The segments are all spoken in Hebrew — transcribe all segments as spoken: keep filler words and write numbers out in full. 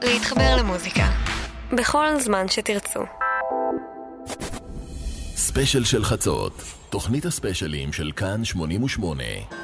להתחבר למוזיקה בכל זמן שתרצו. ספיישל של חצות, תוכנית הספיישלים של כאן שמונים ושמונה.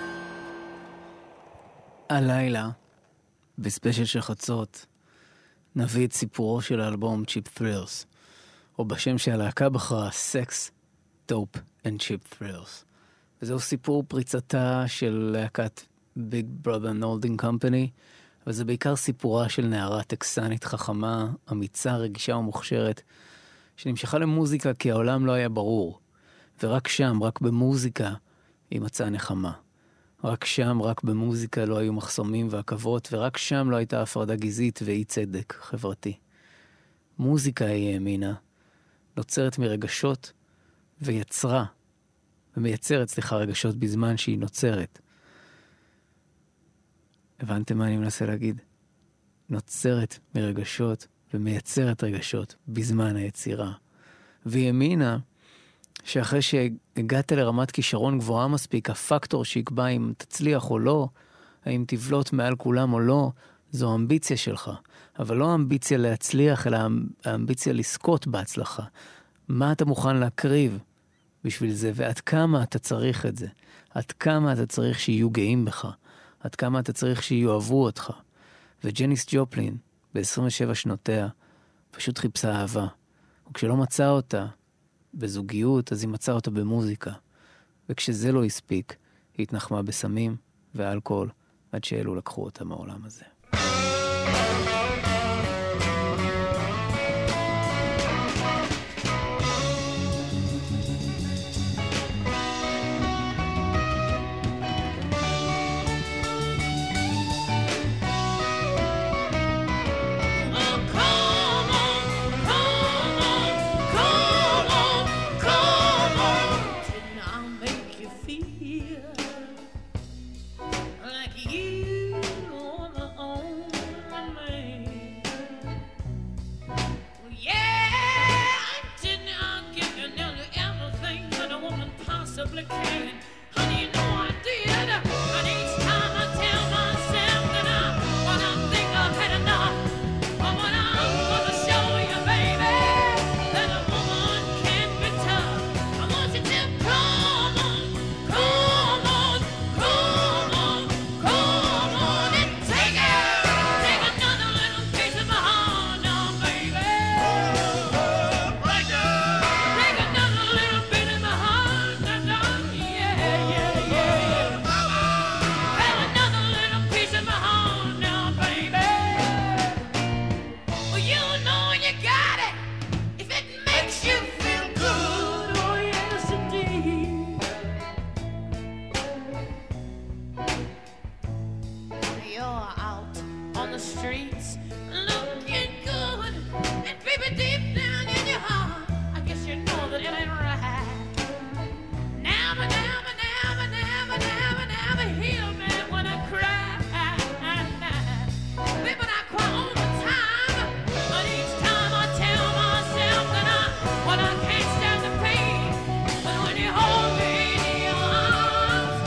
הלילה, בספיישל של חצות, נביא את סיפורו של האלבום Cheap Thrills, או בשם שהלהקה בחרה, Sex, Dope and Cheap Thrills. וזהו סיפור פריצתה של להקת Big Brother Holding Company, וזה בעיקר סיפורה של נערה טקסנית חכמה, אמיצה, רגישה ומוכשרת, שנמשכה למוזיקה כי העולם לא היה ברור. ורק שם, רק במוזיקה, היא מצאה נחמה. רק שם, רק במוזיקה לא היו מחסומים ועקבות, ורק שם לא הייתה הפרדה גזעית ואי צדק חברתי. מוזיקה היא האמינה, נוצרת מרגשות ויצרה, ומייצרת, סליחה, רגשות בזמן שהיא נוצרת. הבנתם מה אני מנסה להגיד? נוצרת מרגשות ומייצרת רגשות בזמן היצירה. והיא האמינה שאחרי שהגעת לרמת כישרון גבוהה מספיק, הפקטור שיקבע אם תצליח או לא, האם תבלוט מעל כולם או לא, זו אמביציה שלך. אבל לא האמביציה להצליח, אלא האמביציה לזכות בהצלחה. מה אתה מוכן להקריב בשביל זה, ועד כמה אתה צריך את זה? עד כמה אתה צריך שיהיו גאים בך? עד כמה אתה צריך שיואהבו אותך? וג'ניס ג'ופלין, ב-עשרים ושבע שנותיה, פשוט חיפשה אהבה. וכשלא מצאה אותה בזוגיות, אז היא מצאה אותה במוזיקה. וכשזה לא הספיק, היא התנחמה בסמים ואלכוהול, עד שאלו לקחו אותה מהעולם הזה.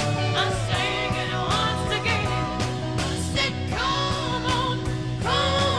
Come on, come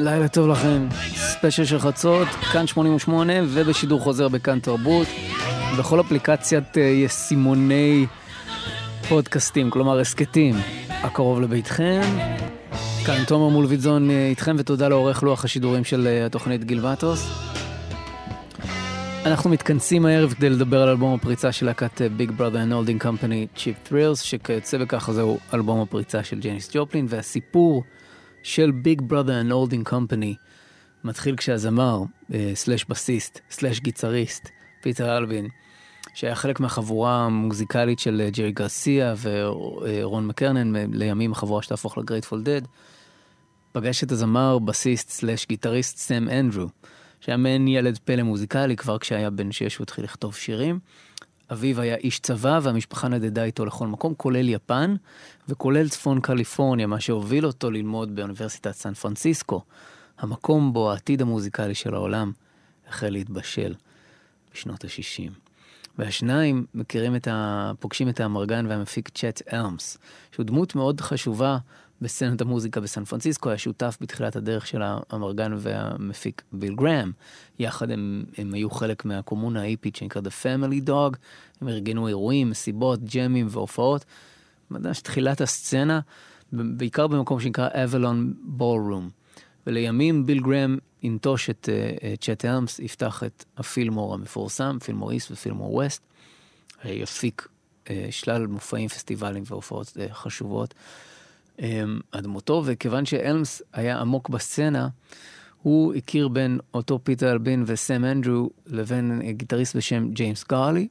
לילה טוב לכם, ספיישל של חצות, כאן שמונים ושמונה ובשידור חוזר בכאן תרבות, בכל אפליקציית ישימוני פודקאסטים, כלומר הסקטים, הקרוב לביתכם. כאן תומר מולביטזון איתכם, ותודה לעורך לוח השידורים של התוכנית גיל וטוס. אנחנו מתכנסים הערב כדי לדבר על אלבום הפריצה של להקת Big Brother and Holding Company, Cheap Thrills, שכיוצא בכך זהו אלבום הפריצה של ג'ניס ג'ופלין, והסיפור של Big Brother and Holding Company מתחיל כשהזמר, סלש בסיסט, סלש גיטריסט, פיטר אלבין, שהיה חלק מהחבורה המוזיקלית של ג'רי גרסיה ורון מקרנן, לימים החבורה שתהפוך לגרייטפול דד, פגש את הזמר, בסיסט, סלש גיטריסט, סם אנדרו, שהיה מעין ילד פלא מוזיקלי כבר כשהיה בן שש והתחיל לכתוב שירים. אביו היה איש צבא והמשפחה נדדה איתו לכל מקום, כולל יפן וכולל צפון קליפורניה, מה שהוביל אותו ללמוד באוניברסיטת סן פרנסיסקו, המקום בו העתיד המוזיקלי של העולם החל להתבשל בשנות ה-שישים. והשניים מכירים את ה... פוגשים את האמרגן והמפיק צ'ט אלמס, שהוא דמות מאוד חשובה בסצנת המוזיקה בסן פרנסיסקו, היה שותף בתחילת הדרך של האמרגן והמפיק ביל גראם. יחד הם, הם היו חלק מהקומונה האיפית שנקרא The Family Dog, הם ארגנו אירועים, מסיבות, ג'מים והופעות. ממש תחילת הסצנה, בעיקר במקום שנקרא Avalon Ballroom. ולימים ביל גראם ינטוש את צ'ט אלמס, יפתח את הפילמור המפורסם, פילמור איסט ופילמור ווסט, יפיק שלל מופעים, פסטיבלים והופעות חשובות. עד מותו, וכיוון שאלמס היה עמוק בסצנה, הוא הכיר בין אותו פיטר אלבין וסם אנדרו לבין גיטריסט בשם ג'יימס גארלי,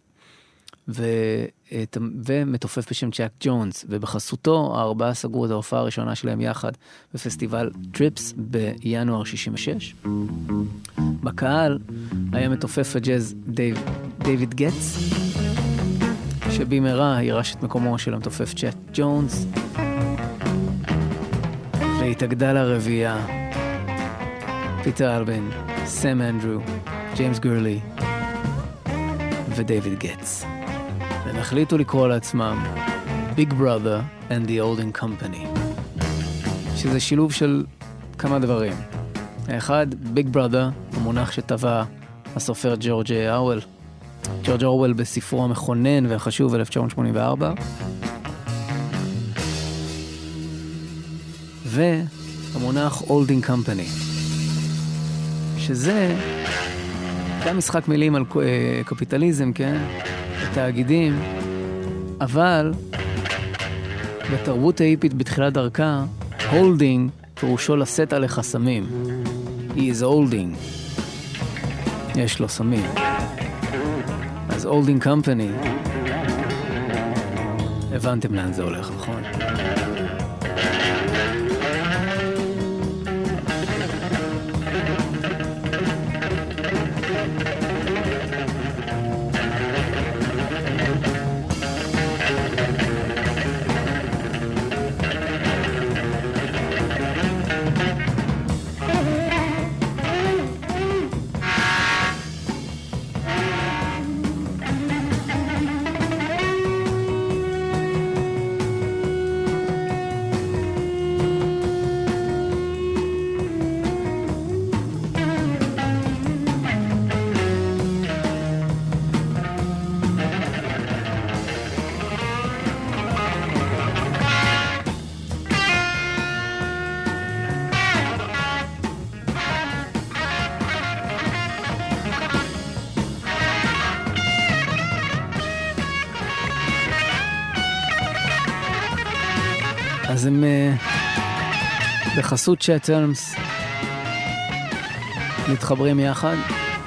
ומתופף בשם צ'אק ג'ונס, ובחסותו הארבעה סגרו את ההופעה הראשונה שלהם יחד בפסטיבל טריפס בינואר שישים ושש. בקהל היה מתופף הג'אז דייב, דיוויד גטס, שבמהרה ירש את מקומו של המתופף צ'אק ג'ונס, והתאגדה לרביעייה פיטר אלבין, סם אנדרו, ג'יימס גורלי ודייוויד גטס. והם החליטו לקרוא לעצמם Big Brother and the Holding Company, שזה שילוב של כמה דברים. האחד, Big Brother, המונח שטבע הסופר ג'ורג' אורוול, ג'ורג' אורוול בספרו המכונן והחשוב אלף תשע מאות שמונים וארבע, והמונח Holding Company, שזה היה משחק מילים על קפיטליזם, כן? תאגידים, אבל בתרבות האיפית בתחילת דרכה, Holding פירושו לשאת עלי חסמים. He is holding. יש לו סמים. אז Holding Company, הבנתם לאן זה הולך, נכון? אז הם בחסות צ'ט אלמס מתחברים יחד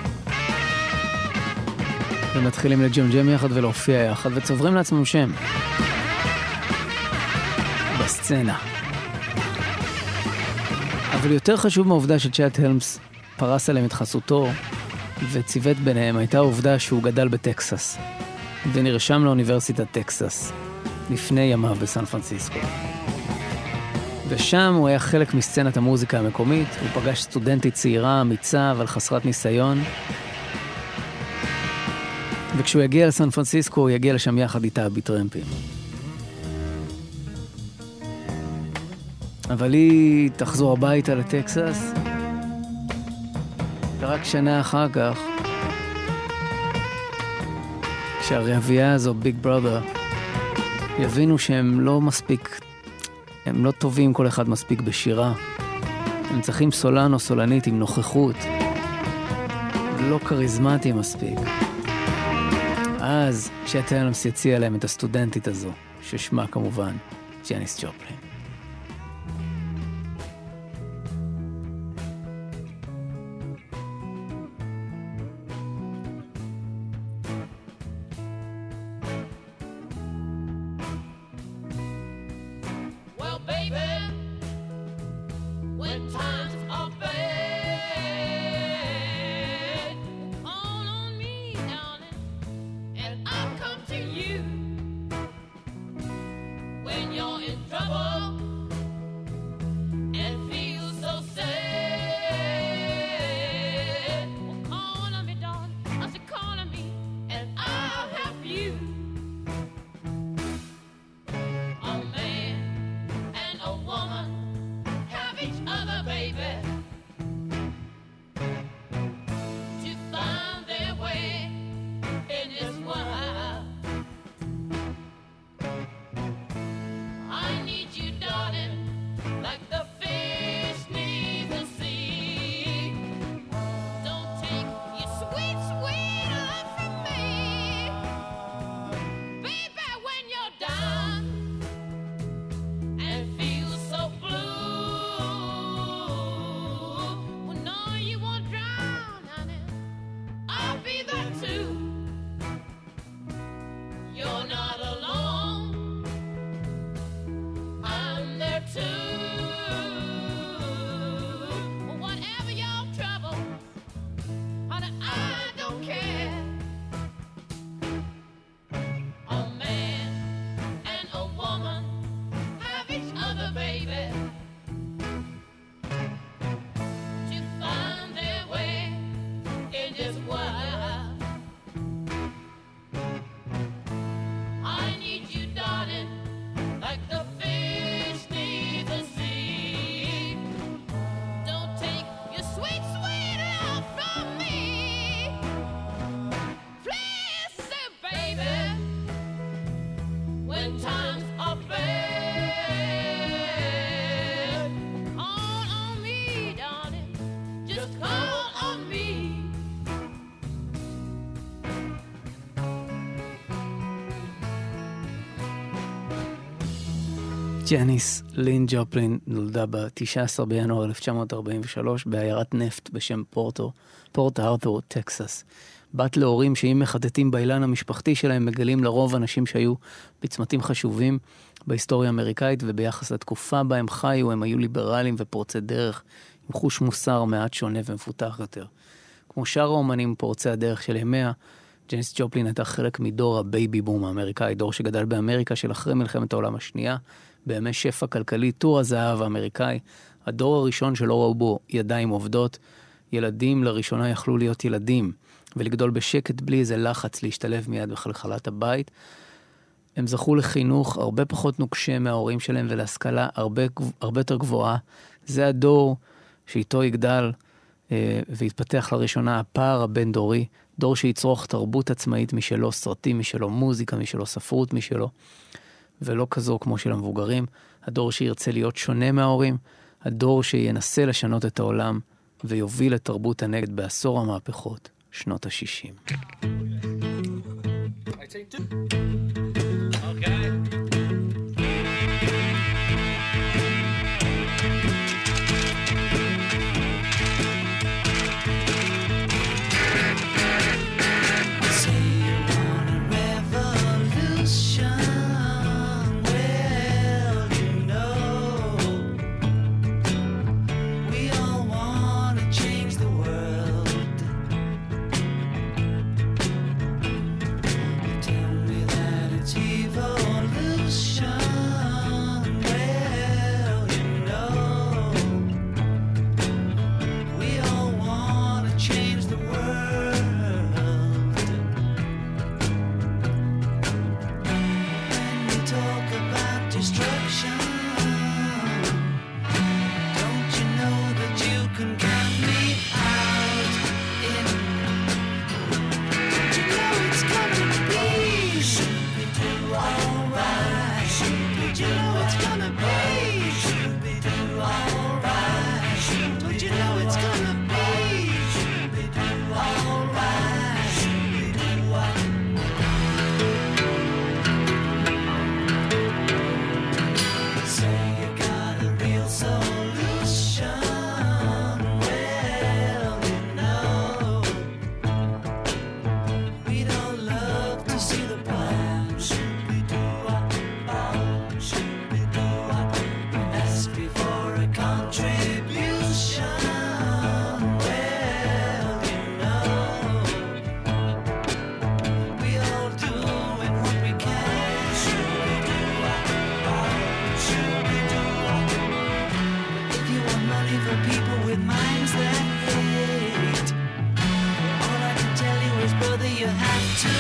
ומתחילים לג'ם-ג'ם יחד ולהופיע יחד וצוברים לעצמם שם בסצנה. אבל יותר חשוב מהעובדה שצ'ט אלמס פרס עליהם את חסותו וציוות ביניהם הייתה העובדה שהוא גדל בטקסס ונרשם לאוניברסיטת טקסס לפני ימיו בסן פרנסיסקו. ושם הוא היה חלק מסצנת המוזיקה המקומית, הוא פגש סטודנטית צעירה, אמיצה, אבל חסרת ניסיון. וכשהוא יגיע לסן פרנסיסקו, הוא יגיע לשם יחד איתה בטרמפים. אבל היא תחזור הביתה לטקסס, שרק שנה אחר כך, כשהרביעייה הזו, ביג ברother, יבינו שהם לא מספיק, הם לא טובים כל אחד מספיק בשירה. הם צריכים סולן או סולנית עם נוכחות, לא קריזמטי מספיק. אז שטלמס יציע להם את הסטודנטית הזו, ששמה כמובן ג'ניס ג'ופלין. ג'ניס לין ג'ופלין נולדה ב-תשעה עשר בינואר אלף תשע מאות ארבעים ושלוש בעיירת נפט בשם פורטו, פורט ארתור, טקסס. בת להורים שאם מחטטים באילן המשפחתי שלהם מגלים לרוב אנשים שהיו בצמתים חשובים בהיסטוריה האמריקאית, וביחס לתקופה בה הם חיו הם היו ליברליים ופורצי דרך עם חוש מוסר מעט שונה ומפותח יותר. כמו שאר האומנים פורצי הדרך של ימיה, ג'ניס ג'ופלין הייתה חלק מדור הבייבי בום האמריקאי, דור שגדל באמריקה של אחרי מלחמת העולם השנייה, בימי שפע כלכלי, טור הזהב האמריקאי, הדור הראשון שלא ראו בו ידיים עובדות, ילדים לראשונה יכלו להיות ילדים, ולגדול בשקט בלי איזה לחץ להשתלב מיד בחלחלת הבית. הם זכו לחינוך הרבה פחות נוקשה מההורים שלהם, ולהשכלה הרבה, הרבה יותר גבוהה. זה הדור שאיתו יגדל אה, והתפתח לראשונה הפער הבין דורי, דור שיצרוך תרבות עצמאית משלו, סרטים משלו, מוזיקה משלו, ספרות משלו, ולא כזו כמו של המבוגרים. הדור שירצה להיות שונה מההורים, הדור שינסה לשנות את העולם ויוביל את תרבות הנגד בעשור המהפכות, שנות ה-שישים. Tell me that it's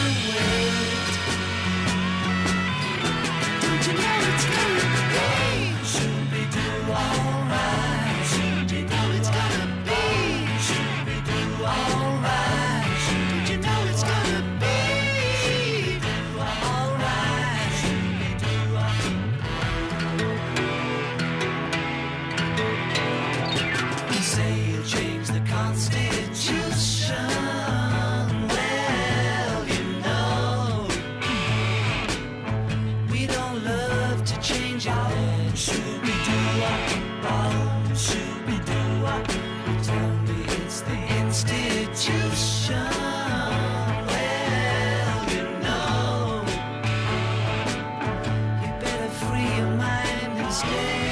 wait. Don't you know it's gonna be? Shooby-doo, alright. Shooby-doo, it's gonna be. Shooby-doo, alright. Don't you know it's gonna be? Alright. You say you'll change the Constitution. Well, you know, we don't love to change our land. Shooby-doo-wop-bop, shooby-doo-wop. Tell me it's the institution. Well, you know, you better free your mind instead.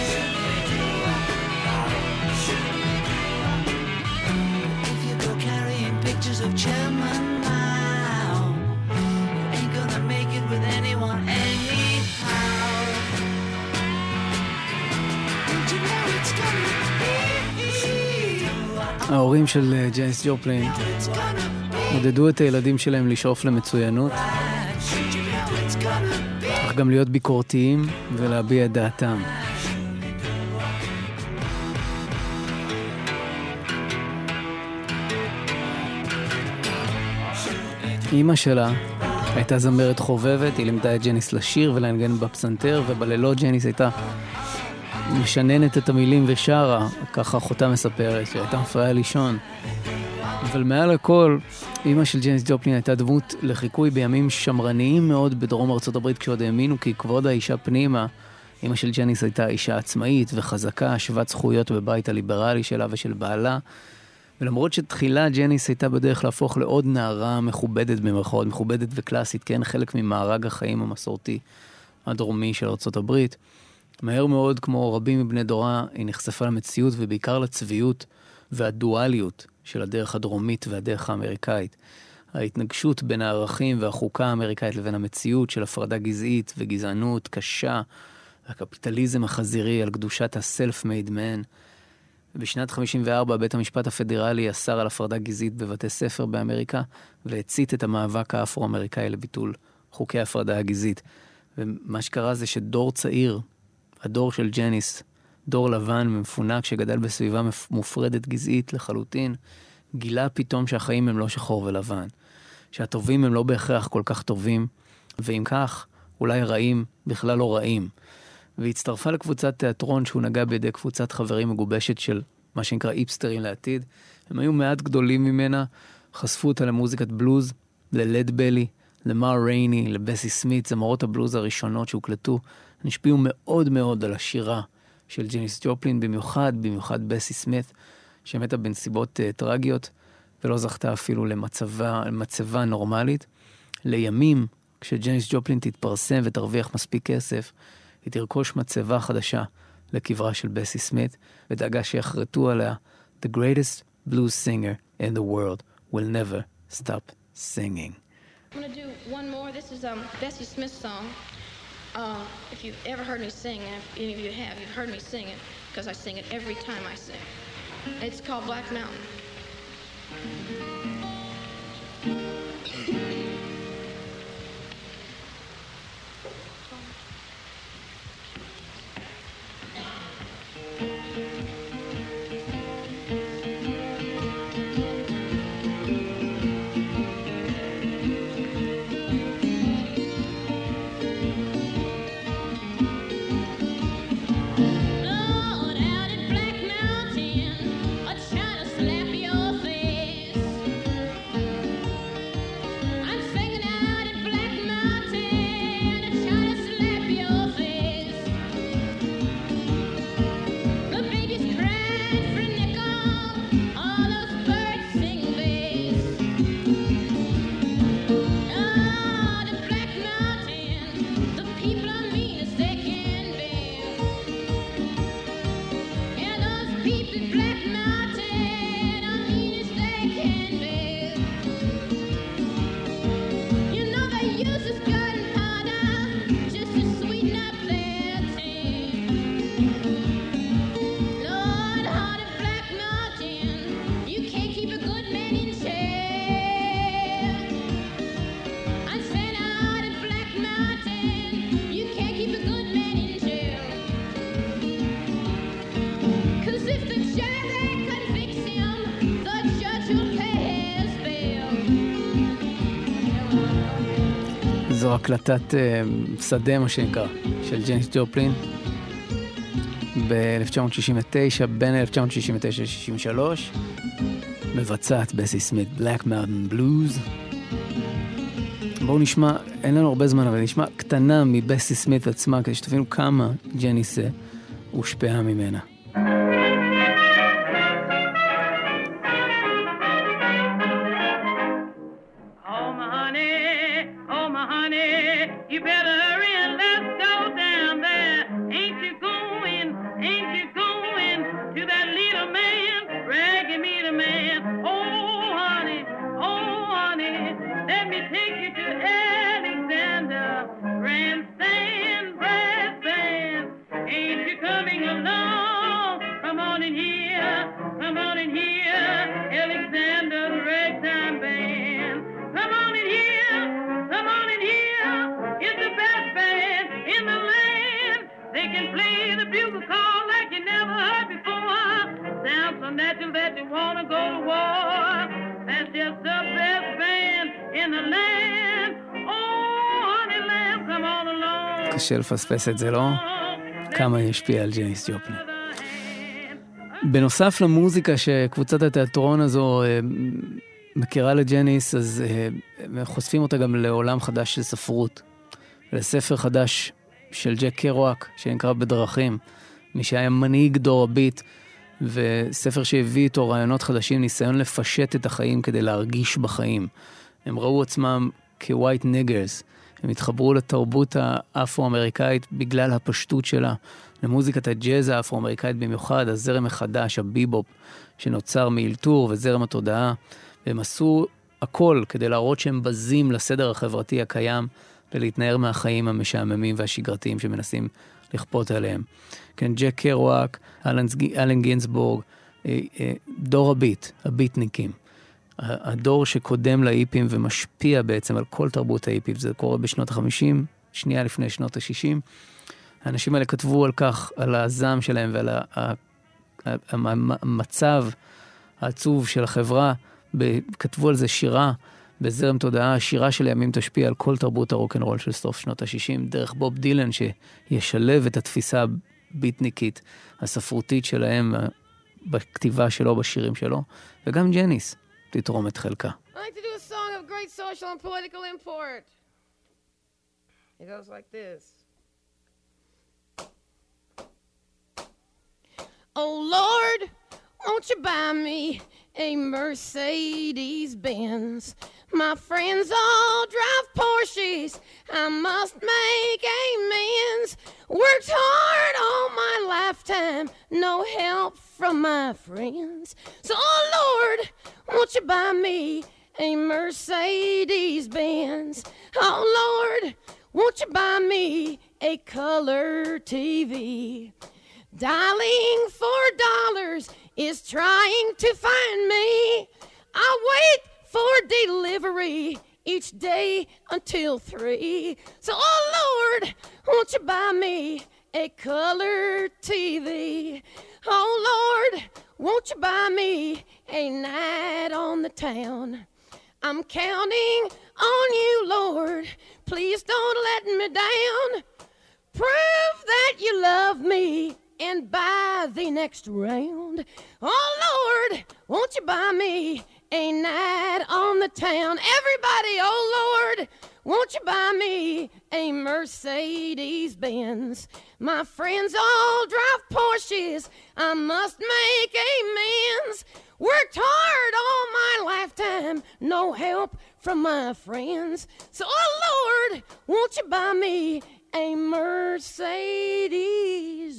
If you go carrying pictures of Chairman Mao, you ain't gonna make it with anyone anyhow. Don't you know it's gonna be? ההורים של ג'ייניס ג'ופלין It's gonna be. עודדו את הילדים שלהם לשאוף למצוינות, Don't you know it's gonna be? אך גם להיות ביקורתיים ולהביע את דעתם. אמא שלה הייתה זמרת חובבת, היא לימדה את ג'ניס לשיר ולנגן בפסנתר, ובלילות ג'ניס הייתה משננת את המילים ושרה, ככה אחותה מספרת, שהייתה מפריעה לישון. אבל מעל הכל, אמא של ג'ניס ג'ופלין הייתה דמות לחיקוי בימים שמרניים מאוד בדרום ארצות הברית, כשעוד האמינו כי כבוד האישה פנימה. אמא של ג'ניס הייתה אישה עצמאית וחזקה, שוות זכויות בבית הליברלי שלה ושל בעלה. ולמרות שתחילה ג'ניס הייתה בדרך להפוך לעוד נערה מכובדת במרכאות, מכובדת וקלאסית, כן, חלק ממארג החיים המסורתי הדרומי של ארצות הברית, מהר מאוד, כמו רבים מבני דורה, היא נחשפה למציאות ובעיקר לצביעות והדואליות של הדרך הדרומית והדרך האמריקאית. ההתנגשות בין הערכים והחוקה האמריקאית לבין המציאות של הפרדה גזעית וגזענות קשה, הקפיטליזם החזירי על קדושת ה-self-made man. בשנת חמישים וארבע בית המשפט הפדרלי אסר על הפרדה גזעית בבתי ספר באמריקה, והצית את המאבק האפרו-אמריקאי לביטול חוקי הפרדה הגזעית. ומה שקרה זה שדור צעיר, הדור של ג'ניס, דור לבן ומפונק שגדל בסביבה מופרדת גזעית לחלוטין, גילה פתאום שהחיים הם לא שחור ולבן, שהטובים הם לא בהכרח כל כך טובים, ואם כך, אולי רעים בכלל לא רעים. והצטרפה לקבוצת תיאטרון שהוא נגע בידי קבוצת חברים מגובשת של מה שנקרא איפסטרים לעתיד. הם היו מעט גדולים ממנה, חשפו אותה למוזיקת בלוז, ללד בלי, למר רייני, לבסי סמית, זמרות הבלוז הראשונות שהוקלטו, נשפיעו מאוד מאוד על השירה של ג'ניס ג'ופלין, במיוחד, במיוחד בסי סמית, שמתה בנסיבות uh, טרגיות, ולא זכתה אפילו למצבה, למצבה נורמלית. לימים, כשג'ניס ג'ופלין תתפרסם ותרוויח מספיק כסף, היא תרכוש מצבה חדשה לקברה של בסי סמית, ודאגה שיחרטו עליה, The greatest blues singer in the world will never stop singing. I'm going to do one more. This is um, Bessie Smith's song. Uh, if you've ever heard me sing, and if any of you have, you've heard me sing it, because I sing it every time I sing. It's called Black Mountain. Lord, out at Black Mountain, a trying to slap your face. זו הקלטת uh, שדה, מה שנקרא, של ג'ניס ג'ופלין, ב-אלף תשע מאות שישים ותשע, בין אלף תשע מאות שישים ותשע ל-שישים ושלוש, מבצעת בסי סמית, Black Mountain Blues. בואו נשמע, אין לנו הרבה זמן, אבל נשמע קטנה מבסי סמית עצמה, כדי שתבינו כמה ג'ניס הושפעה ממנה. קשה לפספס את זה, לא? כמה השפיע על ג'ניס ג'ופלין. בנוסף למוזיקה שקבוצת התיאטרון הזו מכירה לג'ניס, אז חושפים אותה גם לעולם חדש של ספרות, לספר חדש של ג'ק קרואק, שנקרא בדרכים, מי שהיה מנהיג דור הביט, וספר שהביא איתו רעיונות חדשים, ניסיון לפשט את החיים כדי להרגיש בחיים. הם ראו עצמם כווייט ניגרס, הם התחברו לתרבות האפרו-אמריקאית בגלל הפשטות שלה, למוזיקת הג'אז האפרו-אמריקאית במיוחד, הזרם החדש, הביבופ, שנוצר מאלתור וזרם התודעה, והם עשו הכל כדי להראות שהם בזים לסדר החברתי הקיים, ולהתנער מהחיים המשעממים והשגרתיים שמנסים לכפות עליהם. כן, ג'ק קרואק, אלן גינסבורג, דור הביט, הביטניקים. הדור שקודם לאיפים ומשפיע בעצם על כל תרבות האיפים, זה קורה בשנות ה-חמישים, שנייה לפני שנות ה-שישים. האנשים האלה כתבו על כך, על הזעם שלהם ועל המצב העצוב של החברה, כתבו על זה שירה בזרם תודעה, השירה של הימים תשפיע על כל תרבות הרוק'נ'רול של סוף שנות ה-שישים, דרך בוב דילן שישלב את התפיסה הביטניקית, הספרותית שלהם, בכתיבה שלו, בשירים שלו, וגם ג'ניס תתרום את חלקה. I'd like to do a song of great social and political import. It goes like this. Oh Lord, won't you buy me a Mercedes Benz? My friends all drive Porsches, I must make amends. Worked hard all my lifetime, no help from my friends. So oh Lord, won't you buy me a Mercedes Benz? Oh Lord, won't you buy me a color T V? Dialing for dollars is trying to find me. I wait for delivery each day until three. So oh Lord, won't you buy me a color T V? Oh Lord, won't you buy me a night on the town? I'm counting on you, Lord. Please don't let me down. Prove that you love me and buy the next round. Oh Lord, won't you buy me a night on the town? Everybody, oh Lord, won't you buy me a Mercedes Benz? My friends all drive Porsches, I must make amends. Worked hard all my lifetime, no help from my friends. So oh Lord, won't you buy me a Mercedes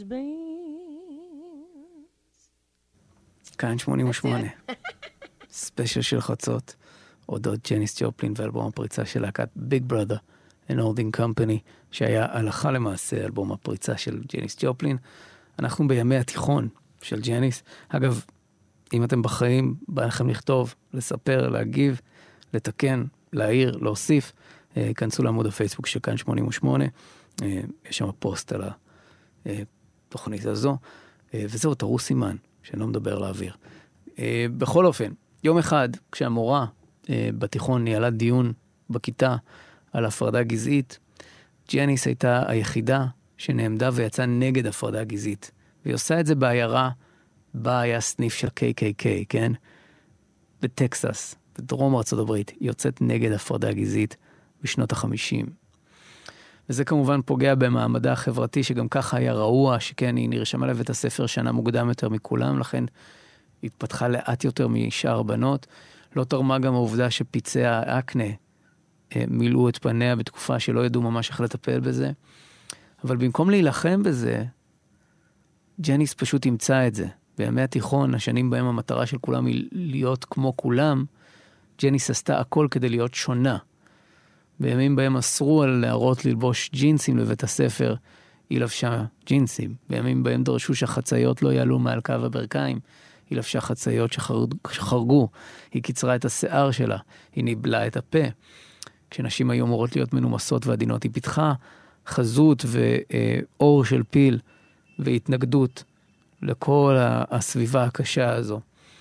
Benz? כאן שמונים ושמונה. ספיישל של חצות, אודות ג'ניס ג'ופלין ואלבום הפריצה של להקת ביג ברother and Holding Company, שהיה הלכה למעשה אלבום הפריצה של ג'ניס ג'ופלין. אנחנו בימי התיכון של ג'ניס. אגב, אם אתם בחיים, בא לכם לכתוב, לספר, להגיב, לתקן, להעיר, להוסיף, כנסו לעמוד הפייסבוק של כאן שמונים ושמונה, יש שם פוסט על התוכנית הזו, וזהו, תראו סימן, שאני לא מדבר לאוויר. בכל אופן, יום אחד, כשהמורה בתיכון ניהלה דיון בכיתה על הפרדה גזעית, ג'ניס הייתה היחידה שנעמדה ויצאה נגד הפרדה גזעית. והיא עושה את זה בעיירה, בה היה סניף של קיי קיי קיי, כן? בטקסס, בדרום ארצות הברית, היא יוצאת נגד הפרדה גזעית בשנות החמישים. וזה כמובן פוגע במעמדה החברתי, שגם ככה היה רעוע, שכן היא נרשמה לבית הספר שנה מוקדם יותר מכולם, לכן היא התפתחה לאט יותר משאר בנות. לא תרמה גם העובדה שפיצי האקנה מילאו את פניה בתקופה שלא ידעו ממש איך לטפל בזה. אבל במקום להילחם בזה, ג'ניס פשוט ימצא את זה. בימי התיכון, השנים בהם המטרה של כולם היא להיות כמו כולם, ג'ניס עשתה הכל כדי להיות שונה. בימים בהם אסרו על נערות ללבוש ג'ינסים לבית הספר, היא לבשה ג'ינסים. בימים בהם דרשו שהחצאיות לא יעלו מעל קו הברכיים, היא לבשה חצאיות שחרגו. היא קיצרה את השיער שלה, היא ניבלה את הפה. כשנשים היו אמורות להיות מנומסות ועדינות, היא פיתחה חזות ואור של פיל והתנגדות לכל הסביבה הקשה הזו.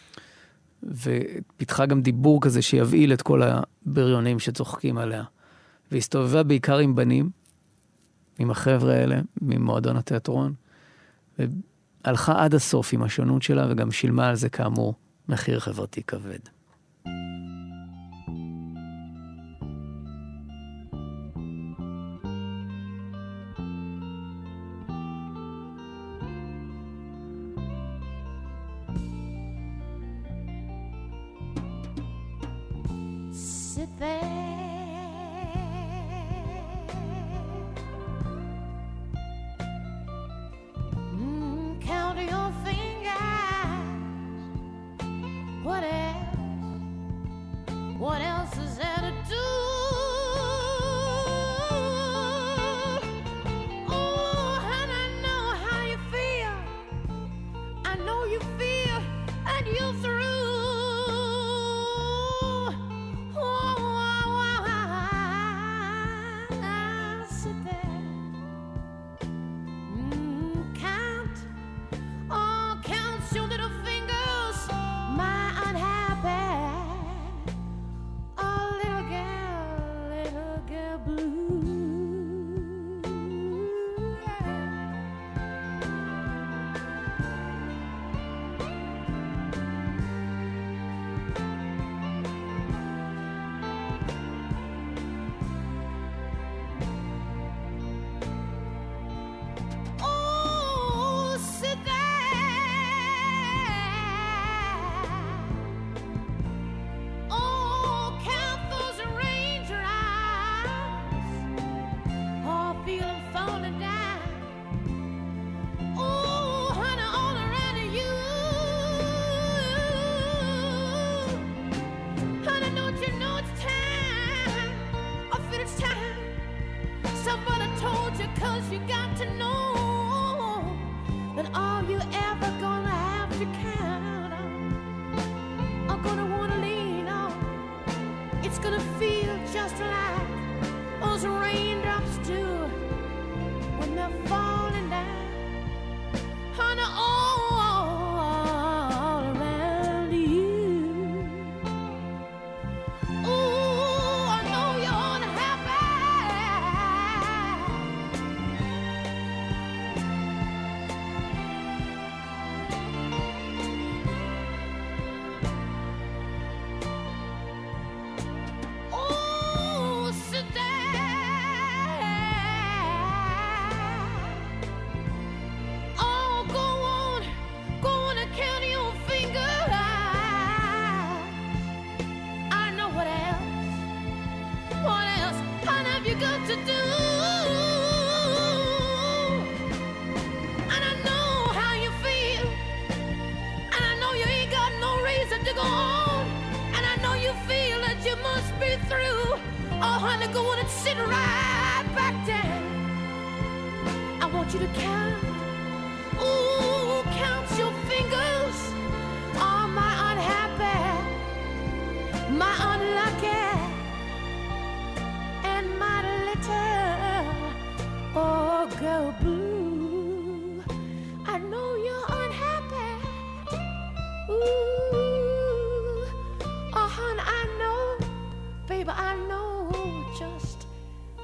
ופיתחה גם דיבור כזה שיבעיל את כל הבריונים שצוחקים עליה. והסתובבה בעיקר עם בנים, עם החבר'ה האלה, ממועדון התיאטרון, והלכה עד הסוף עם השונות שלה, וגם שילמה על זה כאמור מחיר חברתי כבד. Sit there, mm, count your fingers. What else? What else is there to do? Oh, and I know how you feel. I know you feel, and you're through.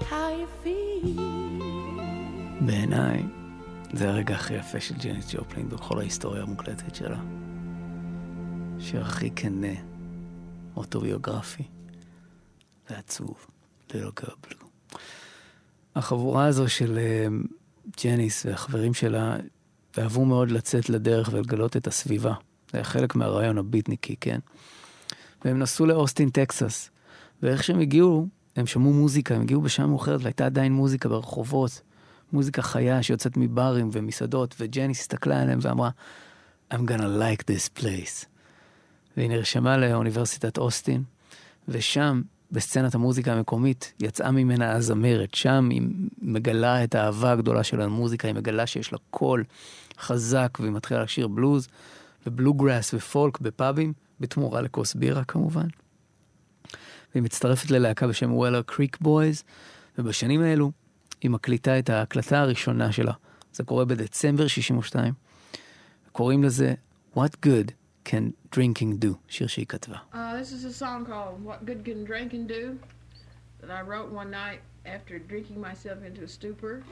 how you feel. בעיניי, זה הרגע הכי יפה של ג'ניס ג'ופלין בכל ההיסטוריה המוקלטת שלה. שיר הכי כנה, אוטוביוגרפי, ועצוב, Little Girl Blue. החבורה הזו של uh, ג'ניס והחברים שלה אהבו מאוד לצאת לדרך ולגלות את הסביבה. זה היה חלק מהרעיון הביטניקי, כן? והם נסעו לאוסטין, טקסס. ואיך שהם הגיעו, הם שמעו מוזיקה, הם הגיעו בשעה מאוחרת, והייתה עדיין מוזיקה ברחובות. מוזיקה חיה שיוצאת מברים ומסעדות, וג'ניס הסתכלה עליהם ואמרה, I'm gonna like this place. והיא נרשמה לאוניברסיטת אוסטין, ושם, בסצנת המוזיקה המקומית, יצאה ממנה הזמרת. שם היא מגלה את האהבה הגדולה של המוזיקה, היא מגלה שיש לה קול חזק, והיא מתחילה לשיר בלוז, ובלוגראס ופולק בפאבים, בתמורה לכוס בירה כמובן. והיא מצטרפת ללהקה בשם וולר קריק בויז, ובשנים האלו היא מקליטה את ההקלטה הראשונה שלה. זה קורה בדצמבר שישים ושתיים. קוראים לזה What Good Can Drinking Do, שיר שהיא כתבה. Uh, this is a song called What Good Can Drinking Do that I wrote one night after drinking myself into a stupor.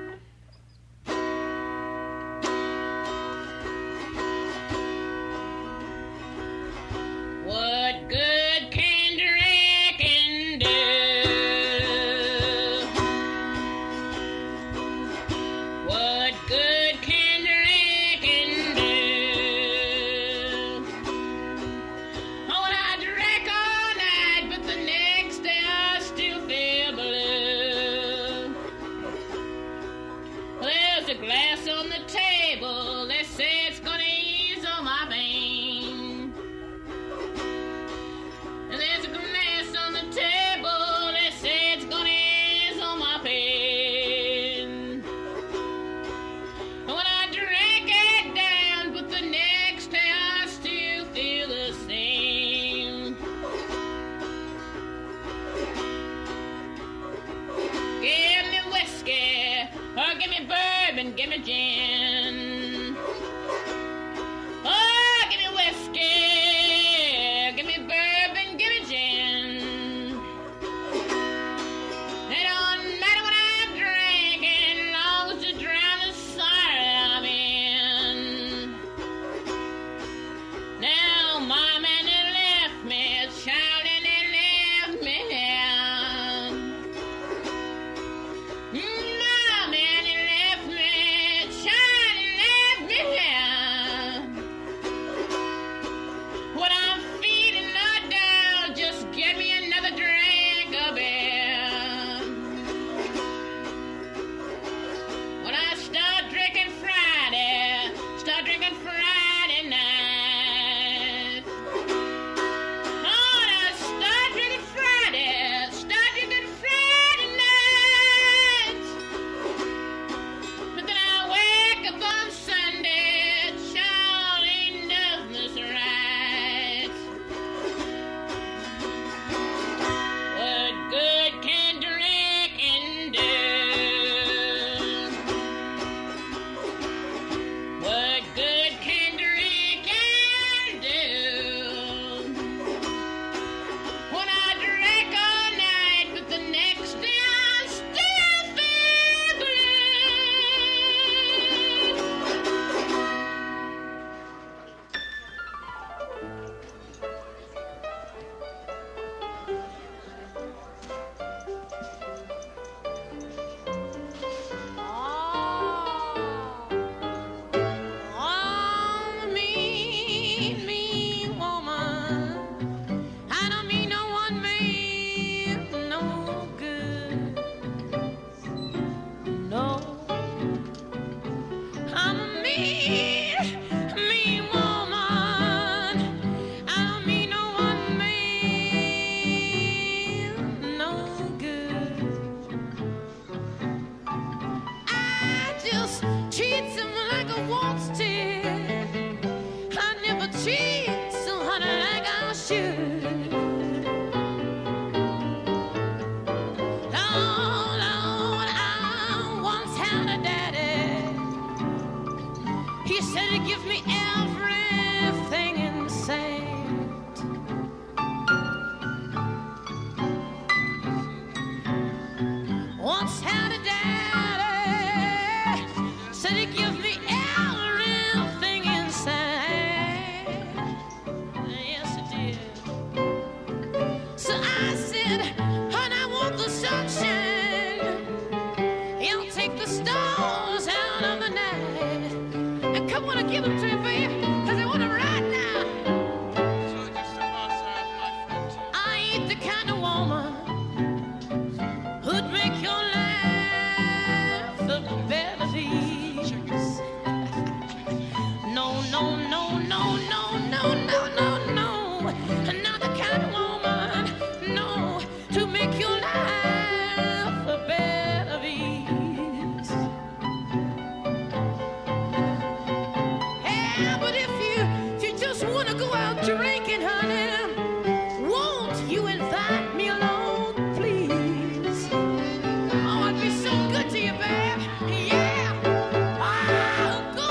What good can drinking do? What good can drinking do? Oh, and I drank all night, but the next day I still feel blue. Well, there's a glass on the table. They say it's gonna ease all my pain. And there's a glass on the table. They say it's gonna ease all my pain. And when I drank it down, but the next day I still feel the same. Give me whiskey, or give me bourbon, give me gin. Oh, give me whiskey, give me bourbon, give me gin. It don't matter what I'm drinking, long as you drown the sorrow I'm in. Now, Mom and they left me, child and they left me here. Mom and they left me, child and left me here. When I'm feeling knocked down, just get me another drink of beer. When I start drinking Friday, start drinking Friday night. Oh, when I start drinking Friday, start drinking Friday night. once had a daddy, said he give me everything inside. Yes, it did. So I said, honey, I want the sunshine. He'll take the stars out of the night. And come on and give them to me, baby, because I want them right now. I ain't the kind of woman who'd make your life a better piece. No, no, no, no, no, no, no, no, no. Not the kind of woman, no, to make your life a better piece. Yeah, but if you, if you just want to go out drinking, honey, won't you invite me along, please? Oh, I'd be so good to you, babe. Yeah. I'll go.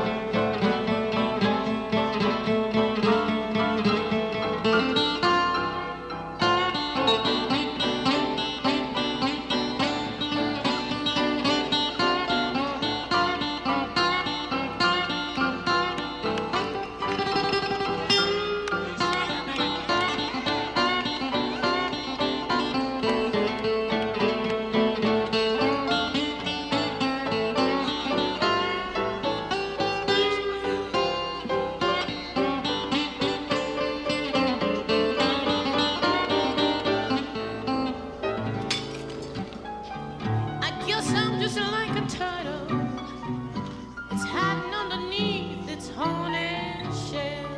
I guess I'm just like a turtle. It's hiding underneath its haunted shell.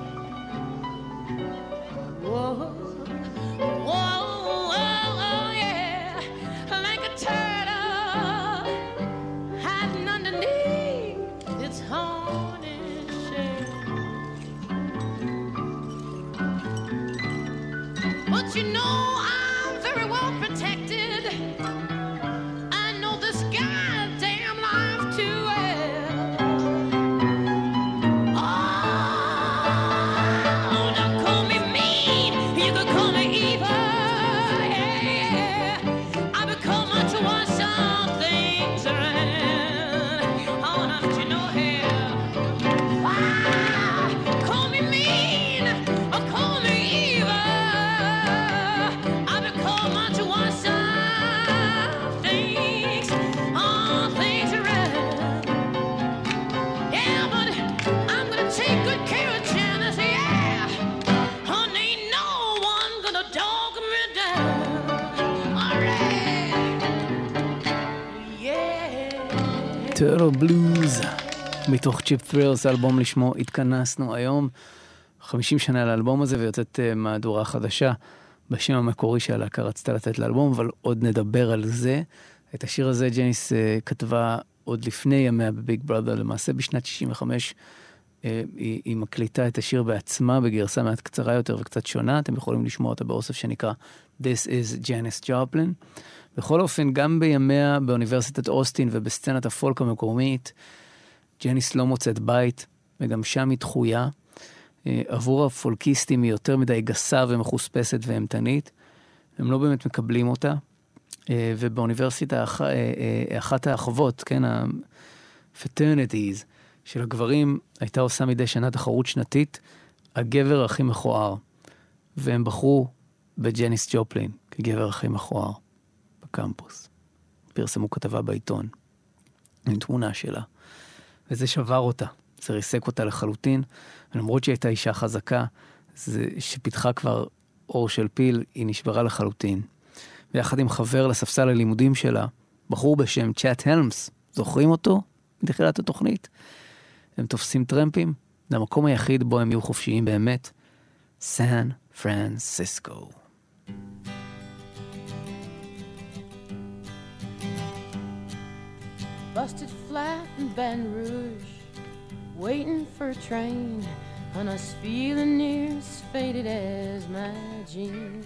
Whoa, whoa, whoa, oh yeah, like a turtle hiding underneath its haunted shell. But you know I'm very well protected. I know this goddamn life too well. Oh, don't call me mean, you can call me evil. Yeah, yeah. I become much to watch some things around. Oh, don't you know here? Ah, call me mean or call me evil. I become much to watch some things, all things around. Yeah, but I'm gonna take good care of Janice, yeah. Honey, ain't no one gonna dog me down. All right. Yeah. טרלו בלוז, מתוך צ'יפ ת'רילס, האלבום לשמו התכנסנו היום. חמישים שנה לאלבום הזה, ויוצאת uh, מהדורה חדשה בשם המקורי שהלהקה רצתה לתת לאלבום, אבל עוד נדבר על זה. את השיר הזה ג'ניס uh, כתבה עוד לפני ימיה בביג בראדר, למעשה בשנת שישים וחמש uh, היא, היא מקליטה את השיר בעצמה בגרסה מעט קצרה יותר וקצת שונה. אתם יכולים לשמוע אותה באוסף שנקרא This is Janis Joplin. בכל אופן, גם בימיה באוניברסיטת אוסטין ובסצנת הפולק המקומית, ג'ניס לא מוצאת בית, וגם שם היא דחויה. עבור הפולקיסטים היא יותר מדי גסה ומחוספסת והמתנית. הם לא באמת מקבלים אותה. ובאוניברסיטה, אחת האחוות, כן, ה-fraternities של הגברים, הייתה עושה מדי שנה תחרות שנתית, הגבר הכי מכוער. והם בחרו בג'ניס ג'ופלין כגבר הכי מכוער בקמפוס. פרסמו כתבה בעיתון עם תמונה שלה. וזה שבר אותה. זה ריסק אותה לחלוטין. ולמרות שהיא הייתה אישה חזקה, זה שפיתחה כבר אור של פיל, היא נשברה לחלוטין. ויחד עם חבר לספסל הלימודים שלה, בחור בשם צ'אט הלמס, זוכרים אותו? מתחילת התוכנית. הם תופסים טרמפים, זה המקום היחיד בו הם יהיו חופשיים באמת, סן פרנסיסקו. Busted flat in Baton Rouge, waiting for a train, and I was feeling near as faded as my jeans.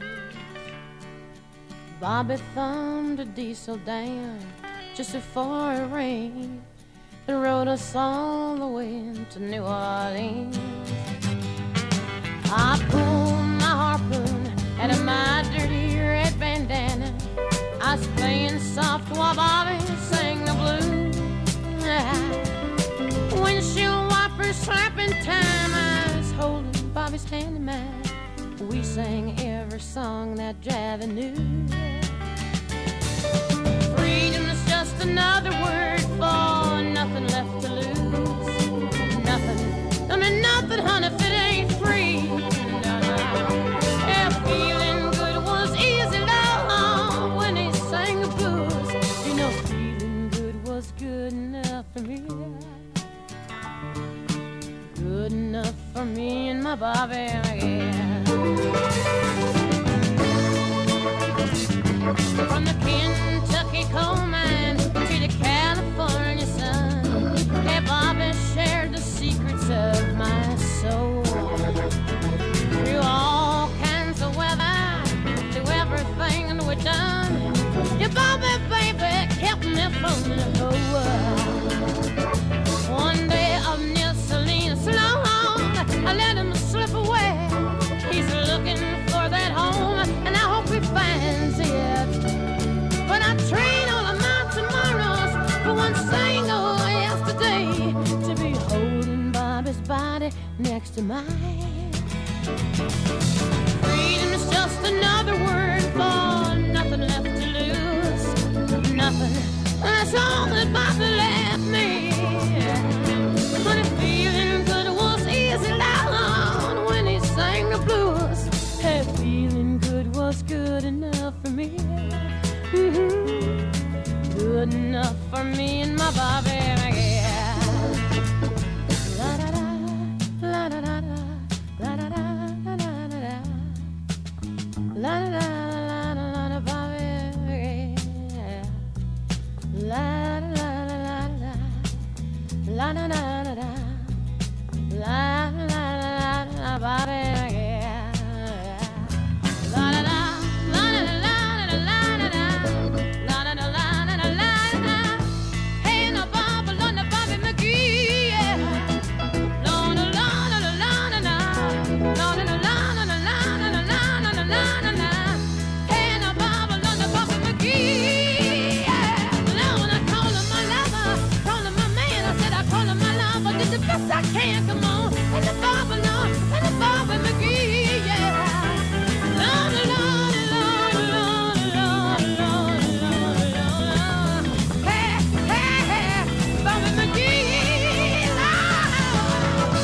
Bobby thumbed a diesel down just before it rained and rode us all the way to New Orleans. I pulled my harpoon out of my dirty red bandana. I was playing soft while Bobby sang the blues. Windshield wipers slapping time, I was holding Bobby's hand in mine. We sang every song that Javi knew. Freedom is just another word for nothing left to lose. Nothing, I mean nothing, honey, if it ain't free. No, no. Yeah, feeling good was easy, love, when he sang the blues. You know, feeling good was good enough for me. Good enough for me and my Bobby, yeah. From the Kentucky coal mine to the California sun, hey, Bobby shared the secrets of my soul. Through all kinds of weather, through everything we've done, your Bobby, baby, kept me from the whole world. One day up near Salinas, Sloan, I let him slip away. He's looking for that home, and I hope he finds it. But I train all of my tomorrows for one single yesterday, to be holding Bobby's body next to mine. Freedom is just another word for nothing left to lose. Nothing, that's all that Bobby left me. But if feeling good was easy down when he sang the blues, hey, feeling good was good enough for me. Mm-hmm. Good enough for me and my Bobby, yeah. La da da, la da da da, la da da da da da da, la da da la da la da Bobby, yeah. La da la la la la, la da da da da, la la la la la Bobby, yeah. La da da. I can't come on, and the Bobby Lord, and the Bobby McGee, yeah. Lord, Lord, Lord, Lord, Lord, Lord, Lord, Lord. Hey, hey, hey, Bobby McGee, Lord.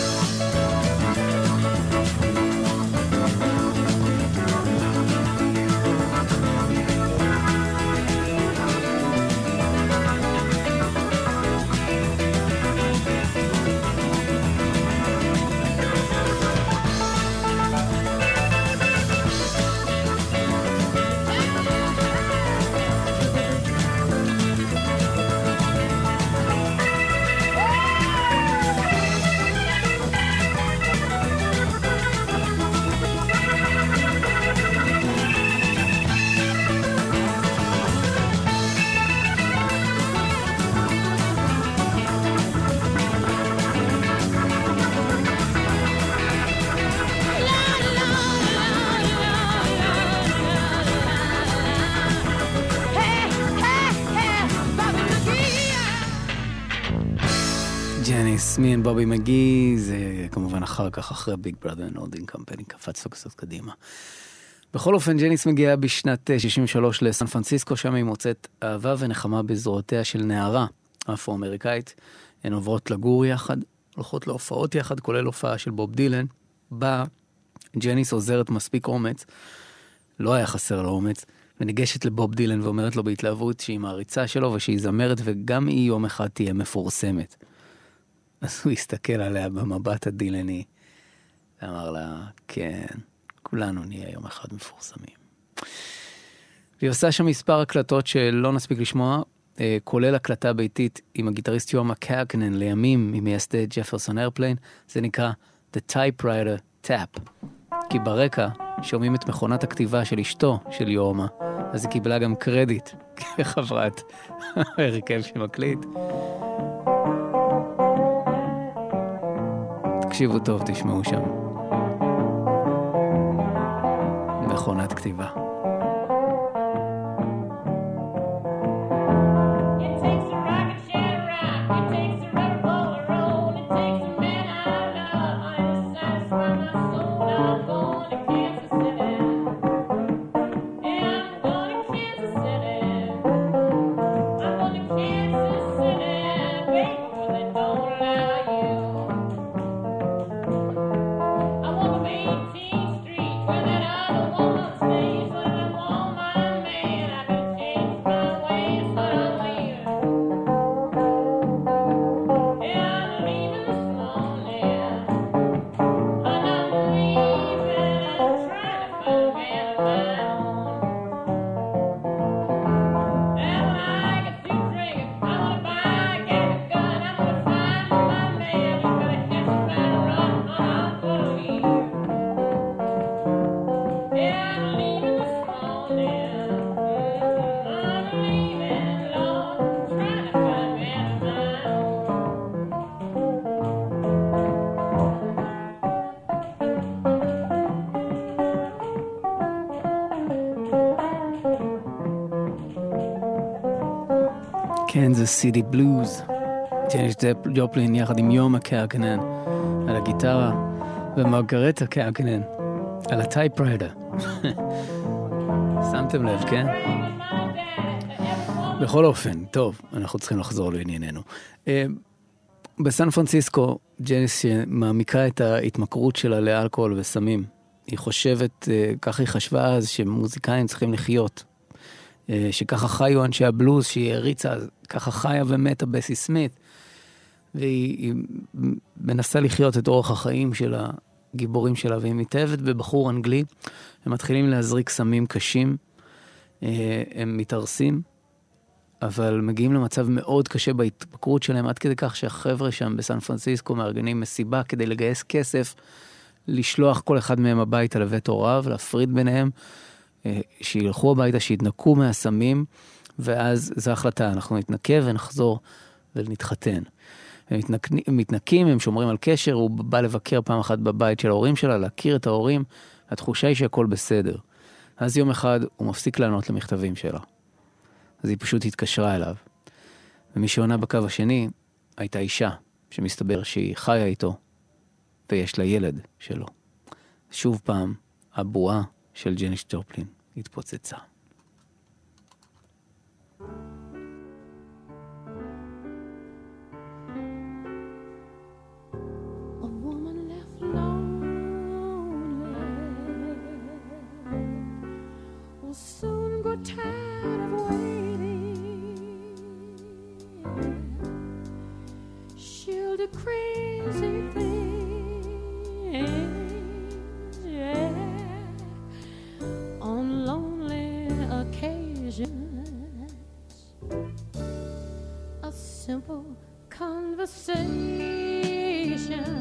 ג'ניס, מי and בובי מגי, זה כמובן אחר כך, אחרי ביג בראדר אנד הולדינג קמפני, קפץ לו קצת קדימה. בכל אופן, ג'ניס מגיעה בשנת שישים ושלוש לסן פרנסיסקו, שם היא מוצאת אהבה ונחמה בזרועותיה של נערה אפרו-אמריקאית. הן עוברות לגור יחד, הולכות להופעות יחד, כולל הופעה של בוב דילן. בה ג'ניס עוזרת מספיק אומץ, לא היה חסר לו אומץ, וניגשת לבוב דילן ואומרת לו בהתלהבות שהיא מעריצה שלו ושהיא זמרת, וגם היא יום אחד תהיה מפורסמת. אז הוא הסתכל עליה במבט הדילני, ואמר לה, כן, כולנו נהיה יום אחד מפורסמים. והיא עושה שם מספר הקלטות שלא נספיק לשמוע, כולל הקלטה ביתית עם הגיטריסט יורם מקאקנן, לימים ממייסדי ג'פרסון איירפליין. זה נקרא The Typewriter Tap, כי ברקע שומעים את מכונת הכתיבה של אשתו של יורמה, אז היא קיבלה גם קרדיט כחברת הרכב שמקליט. תקשיבו טוב, תשמעו שם מכונת כתיבה. קנזס סיטי בלוז. ג'ניס ג'ופלין יחד עם יום הקרקנן על הגיטרה, ומרגרטה קרקנן על הטייפריידר. שמתם לב, כן? בכל אופן, טוב, אנחנו צריכים לחזור לענייננו. בסן פרנסיסקו, ג'ניס מעמיקה את ההתמכרות שלה לאלכוהול וסמים. היא חושבת, ככה היא חשבה אז, שמוזיקאים צריכים לחיות. שככה חיו אנשי הבלוז, שהיא הריצה, ככה חיה ומתה בסי סמית. והיא מנסה לחיות את אורח החיים של הגיבורים שלה, והיא מתאהבת בבחור אנגלי. הם מתחילים להזריק סמים קשים, הם מתארסים, אבל מגיעים למצב מאוד קשה בהתמכרות שלהם, עד כדי כך שהחבר'ה שם בסן פרנסיסקו מארגנים מסיבה כדי לגייס כסף, לשלוח כל אחד מהם הביתה לבית הוריו, להפריד ביניהם, שילכו הביתה, שיתנקו מהסמים, ואז זו החלטה, אנחנו נתנקה ונחזור ונתחתן. הם מתנקים, הם שומרים על קשר, הוא בא לבקר פעם אחת בבית של ההורים שלה, להכיר את ההורים, התחושה היא שהכל בסדר. אז יום אחד הוא מפסיק לענות למכתבים שלה. אז היא פשוט התקשרה אליו. ומי שעונה בקו השני הייתה אישה, שמסתבר שהיא חיה איתו, ויש לה ילד שלו. שוב פעם, הבועה של ג'ניס ג'ופלין התפוצצה. Soon grow tired of waiting. She'll do crazy things, yeah, on lonely occasions. A simple conversation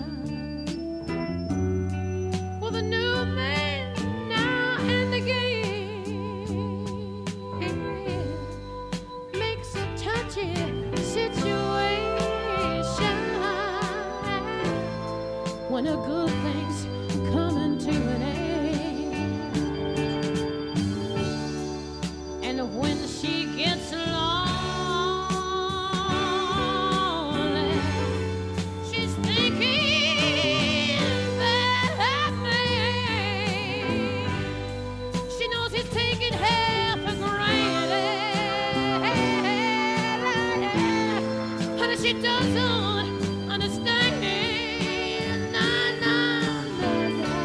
with a new man now and again. Situation when a good thing's coming to an end, and when she gets lonely, she's thinking that man. She knows he's taking her for granted, and she doesn't understand. Nah, nah, nah, nah.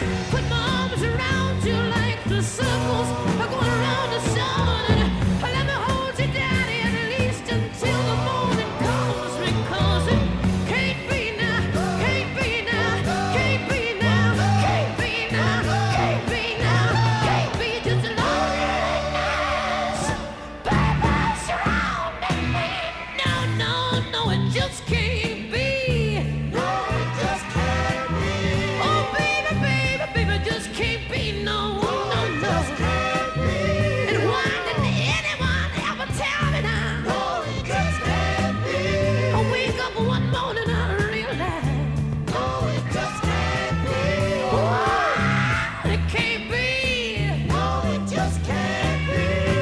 put my arms around you like the circles are going around the sun. And let me hold you down at least until the morning comes, because it can't be now, can't be now, can't be now, can't be now, can't be now, can't be just loneliness, baby, surrounding me. No, no, no, it just can't be. No, it just can't be. Oh, baby, baby, baby, just can't be. No, no, no. And why didn't anyone ever tell me now? No, it just can't be. I wake up one morning and I realize, no, it just can't be. Why? It can't be. No, it just can't be.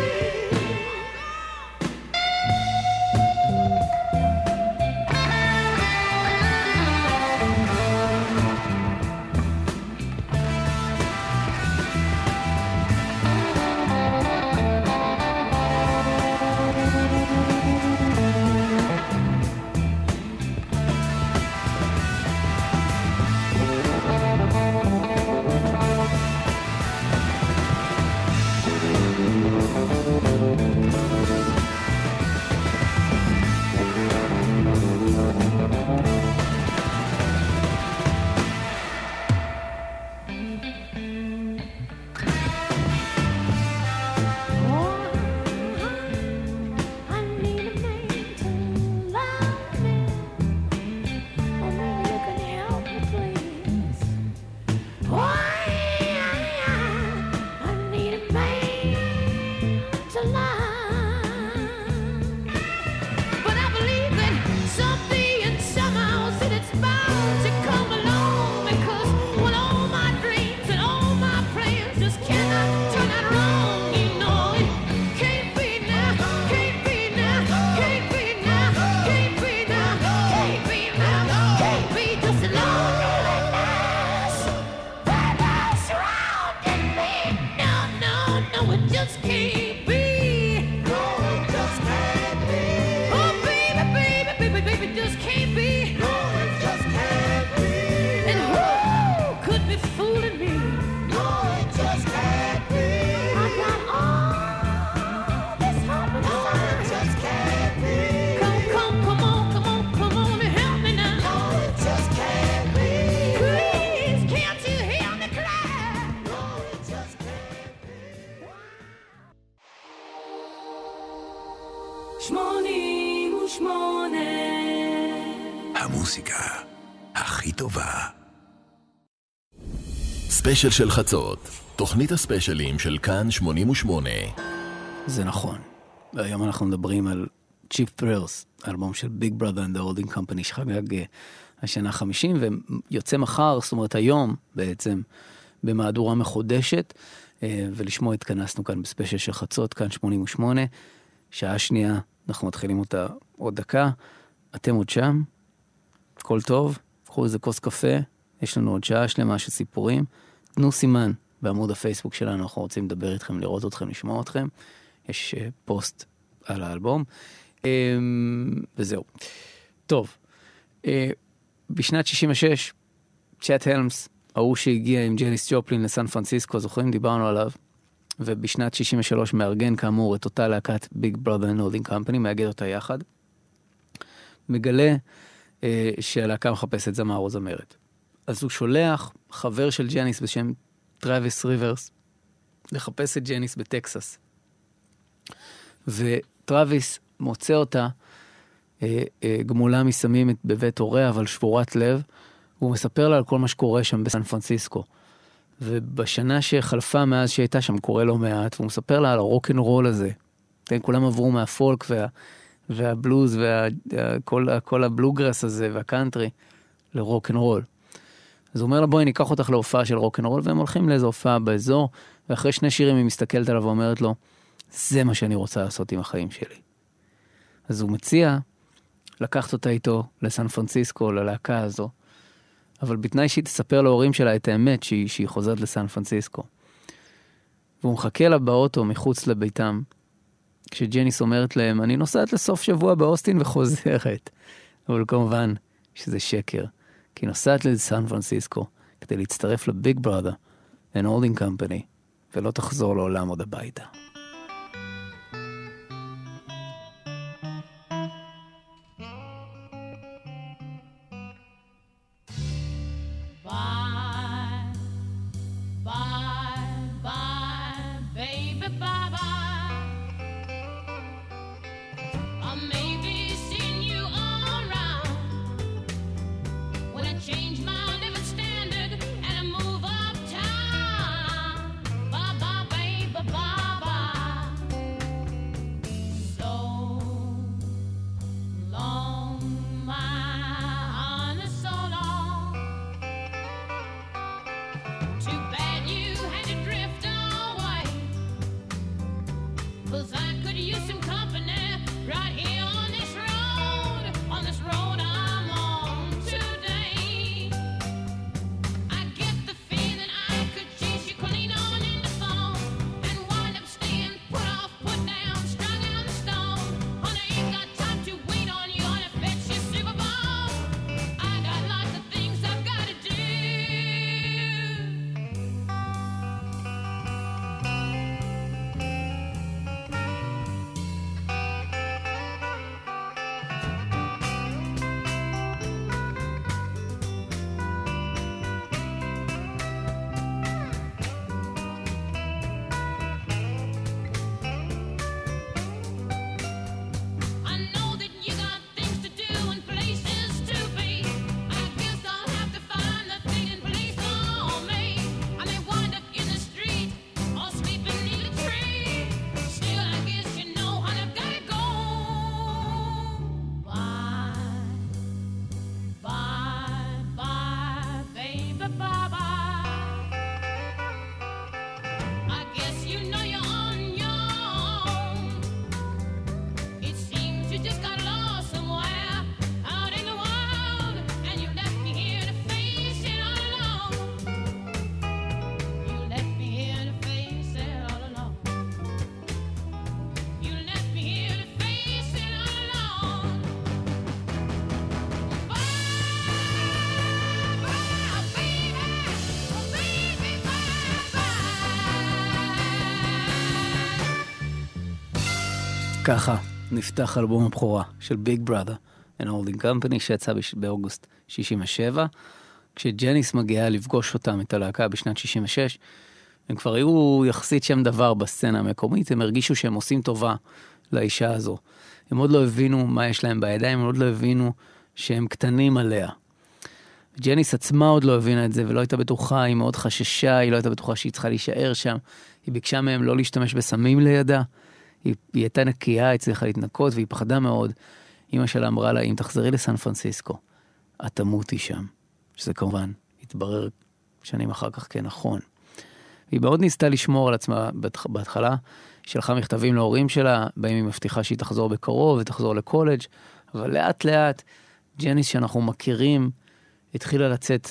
I need a man to love me. Oh, maybe you can help me, please. Why? I need a man to love. But I believe that someday and somehow that it's bound to come along, because when all my dreams and all my plans just cannot turn out wrong, you know it can't be now, can't be now, can't be now, can't be now, can't be now, can't be just loneliness, baby, surrounding me. No, no, no, it just can't be. No, it just can't be. Oh, baby, baby, baby, baby, just can't be. No, it just can't be. And who could be fooling me? No, it just can't be. I got all this hope inside. No, it just can't be. Come, come, come on, come on, come on and help me now. No, it just can't be. Please, can't you hear me cry? No, it just can't be. שמונים ושמונה המוסיקה הכי טובה. ספיישל של חצות, תוכנית הספיישלים של כאן שמונים ושמונה. זה נכון. והיום אנחנו מדברים על Cheap Thrills, אלבום של Big Brother and the Holding Company שחגג אה, השנה חמישים, ויוצא מחר, זאת אומרת היום בעצם, במהדורה מחודשת, אה, ולשמוע התכנסנו כאן בספיישל של חצות, כאן שמונים ושמונה, שעה שנייה, אנחנו מתחילים אותה עוד דקה, אתם עוד שם, הכל טוב, קחו איזה כוס קפה, יש לנו עוד שעה שלמה של סיפורים, תנו סימן בעמוד הפייסבוק שלנו, אנחנו רוצים לדבר איתכם, לראות אתכם, לשמוע אתכם, יש uh, פוסט על האלבום, um, וזהו. טוב, uh, בשנת שישים ושש, צ'אט הלמס, ההוא שהגיע עם ג'ניס ג'ופלין לסן פרנסיסקו, זוכרים? דיברנו עליו, ובשנת שישים ושלוש מארגן כאמור את אותה להקת Big Brother and Holding Company, מאגד אותה יחד, מגלה uh, שהלהקה מחפשת זמר או זמרת. אז הוא שולח חבר של ג'ניס בשם טראביס ריברס, לחפש את ג'ניס בטקסס. וטראביס מוצא אותה, אה, אה, גמולה מסמים בבית הוריה, אבל שבורת לב, והוא מספר לה על כל מה שקורה שם בסן פרנסיסקו. ובשנה שחלפה מאז שהייתה שם קורה לא מעט, והוא מספר לה על הרוק'נ'רול הזה. כן, כולם עברו מהפולק וה, והבלוז וכל כל הבלוגרס הזה והקאנטרי לרוק'נ'רול. אז הוא אומר לה, בואי ניקח אותך להופעה של רוק'נ'רול, והם הולכים לאיזו הופעה באזור, ואחרי שני שירים היא מסתכלת עליו ואומרת לו, זה מה שאני רוצה לעשות עם החיים שלי. אז הוא מציע לקחת אותה איתו לסן פרנסיסקו, ללהקה הזו, אבל בתנאי שהיא תספר להורים שלה את האמת שהיא, שהיא חוזרת לסן פרנסיסקו. והוא מחכה לה באוטו מחוץ לביתם, כשג'ניס אומרת להם, אני נוסעת לסוף שבוע באוסטין וחוזרת. אבל כמובן שזה שקר, כי נוסעת לסן פרנסיסקו, כדי להצטרף לביג ברother and holding company, ולא תחזור לעולם עוד הביתה. ככה נפתח אלבום הבכורה של ביג ברother and holding company שיצא באוגוסט שישים ושבע. כשג'ניס מגיעה לפגוש אותם את הלהקה בשנת שישים ושש, הם כבר היו יחסית שם דבר בסצנה המקומית, הם הרגישו שהם עושים טובה לאישה הזו. הם עוד לא הבינו מה יש להם בידיים, הם עוד לא הבינו שהם קטנים עליה. ג'ניס עצמה עוד לא הבינה את זה ולא הייתה בטוחה, היא מאוד חששה, היא לא הייתה בטוחה שהיא צריכה להישאר שם, היא ביקשה מהם לא להשתמש בסמים לידה, היא, היא הייתה נקייה, היא צריכה להתנקות והיא פחדה מאוד. אמא שלה אמרה לה, אם תחזרי לסן פרנסיסקו, את תמותי שם. שזה כמובן התברר שנים אחר כך כנכון. היא מאוד ניסתה לשמור על עצמה בהתחלה, היא שלחה מכתבים להורים שלה, בהם היא מבטיחה שהיא תחזור בקרוב ותחזור לקולג', אבל לאט לאט ג'ניס שאנחנו מכירים התחילה לצאת,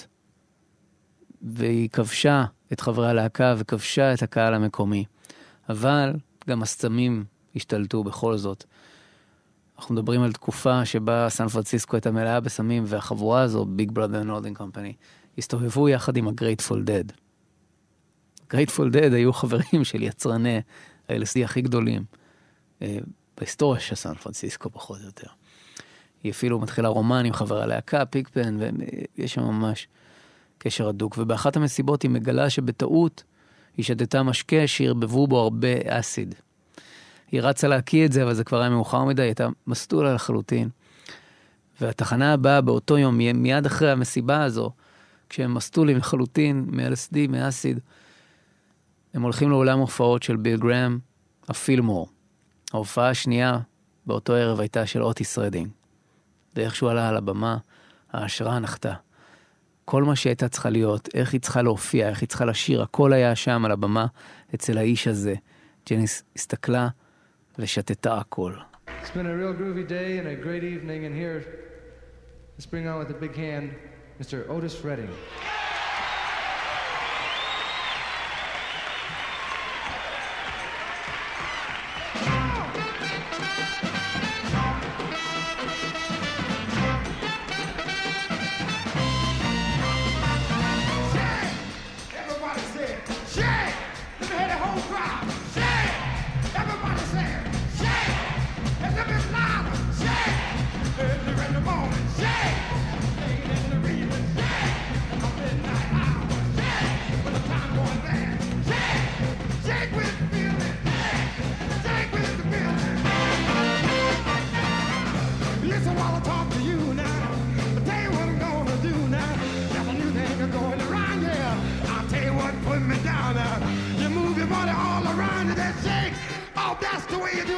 והיא כבשה את חברי הלהקה וכבשה את הקהל המקומי. אבל גם הסמים השתלטו בכל זאת. אנחנו מדברים על תקופה שבה סן פרנסיסקו הייתה מלאה בסמים, והחבורה הזו, ביג ברother and holding company, הסתובבו יחד עם ה-Grateful Dead. Grateful Dead היו חברים של יצרני ה-אל אס די הכי גדולים אה, בהיסטוריה של סן פרנסיסקו פחות או יותר. היא אפילו מתחילה רומן עם חברה להקה, פיקפן, ויש שם ממש קשר הדוק. ובאחת המסיבות היא מגלה שבטעות היא שתתה משקה שירבבו בו הרבה אסיד. היא רצה להקיא את זה, אבל זה כבר היה מאוחר מדי, היא הייתה מסטולה לחלוטין. והתחנה הבאה באותו יום, מיד אחרי המסיבה הזו, כשהם מסטולים לחלוטין מ-אל אס די, מאסיד, הם הולכים לעולם הופעות של ביל גרם, הפילמור. ההופעה השנייה באותו ערב הייתה של אוטיס רדינג. ואיכשהו עלה על הבמה, ההשראה נחתה. כל מה שהייתה צריכה להיות, איך היא צריכה להופיע, איך היא צריכה לשיר, הכל היה שם על הבמה אצל האיש הזה. ג'ניס הסתכלה ושתתה הכל. It's been a real groovy day and a great evening, and here, let's bring on with a big hand, Mister Otis Redding. Yeah!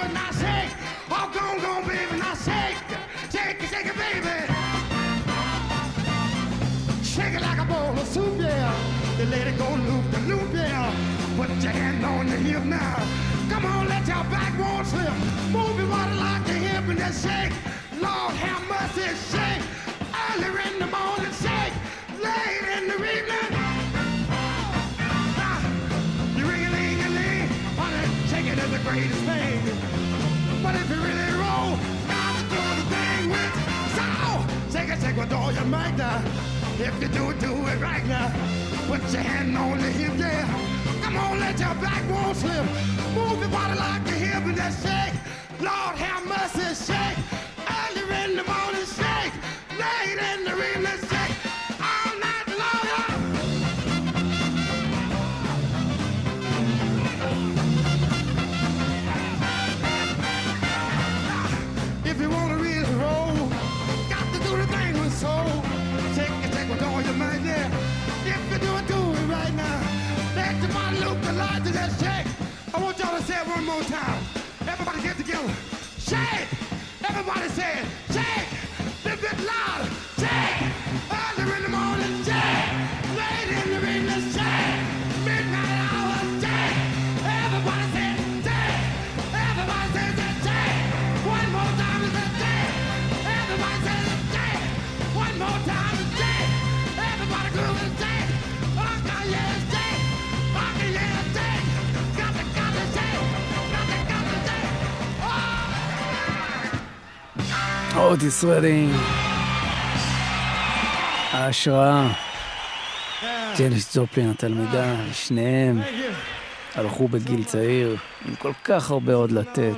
it, now shake. Oh, go on, go on, baby, now shake. Shake it, shake it, baby. Shake it like a bowl of soup, yeah. You let it go loop the loop, yeah. Put your hand on your hip now. Come on, let your backbone slip. Move your body like a hip and just shake. Lord have mercy, shake. Early in the morning, shake. Late in the evening. Ah, you ring-a-ling-a-ling. Honey, shaking is the greatest thing. But if you really roll, got to do the thing with soul. Shake it, shake with all your might now. If you do it, do it right now. Put your hand on the hip, yeah. Come on, let your backbone slip. Move your body like a hip and just shake. Lord have mercy, shake. Early in the morning, shake. Late in the evening, shake. All night long, yeah. If you want to really roll, got to do the thing with soul. Take it, take with all your might, yeah. If you do it, do it right now. Let your body look the light to that shake. I want y'all to say it one more time. Everybody get together. Shake! Everybody say it. Shake! A little bit louder. Shake! Early in the morning, shake! Late in the evening, shake! Midnight hour, shake! Everybody say it. Shake! Everybody says it. Shake! One more time is a shake! Everybody says it. Shake! One more time is shake! Everybody groove and shake! Okay, yeah, shake! Okay, yeah, shake! Got to, got to shake! Got to, got to shake! אוטיס רדינג, ההשראה, ג'ניס ג'ופלין התלמידה, שניהם הלכו בגיל צעיר עם כל כך הרבה עוד לתת,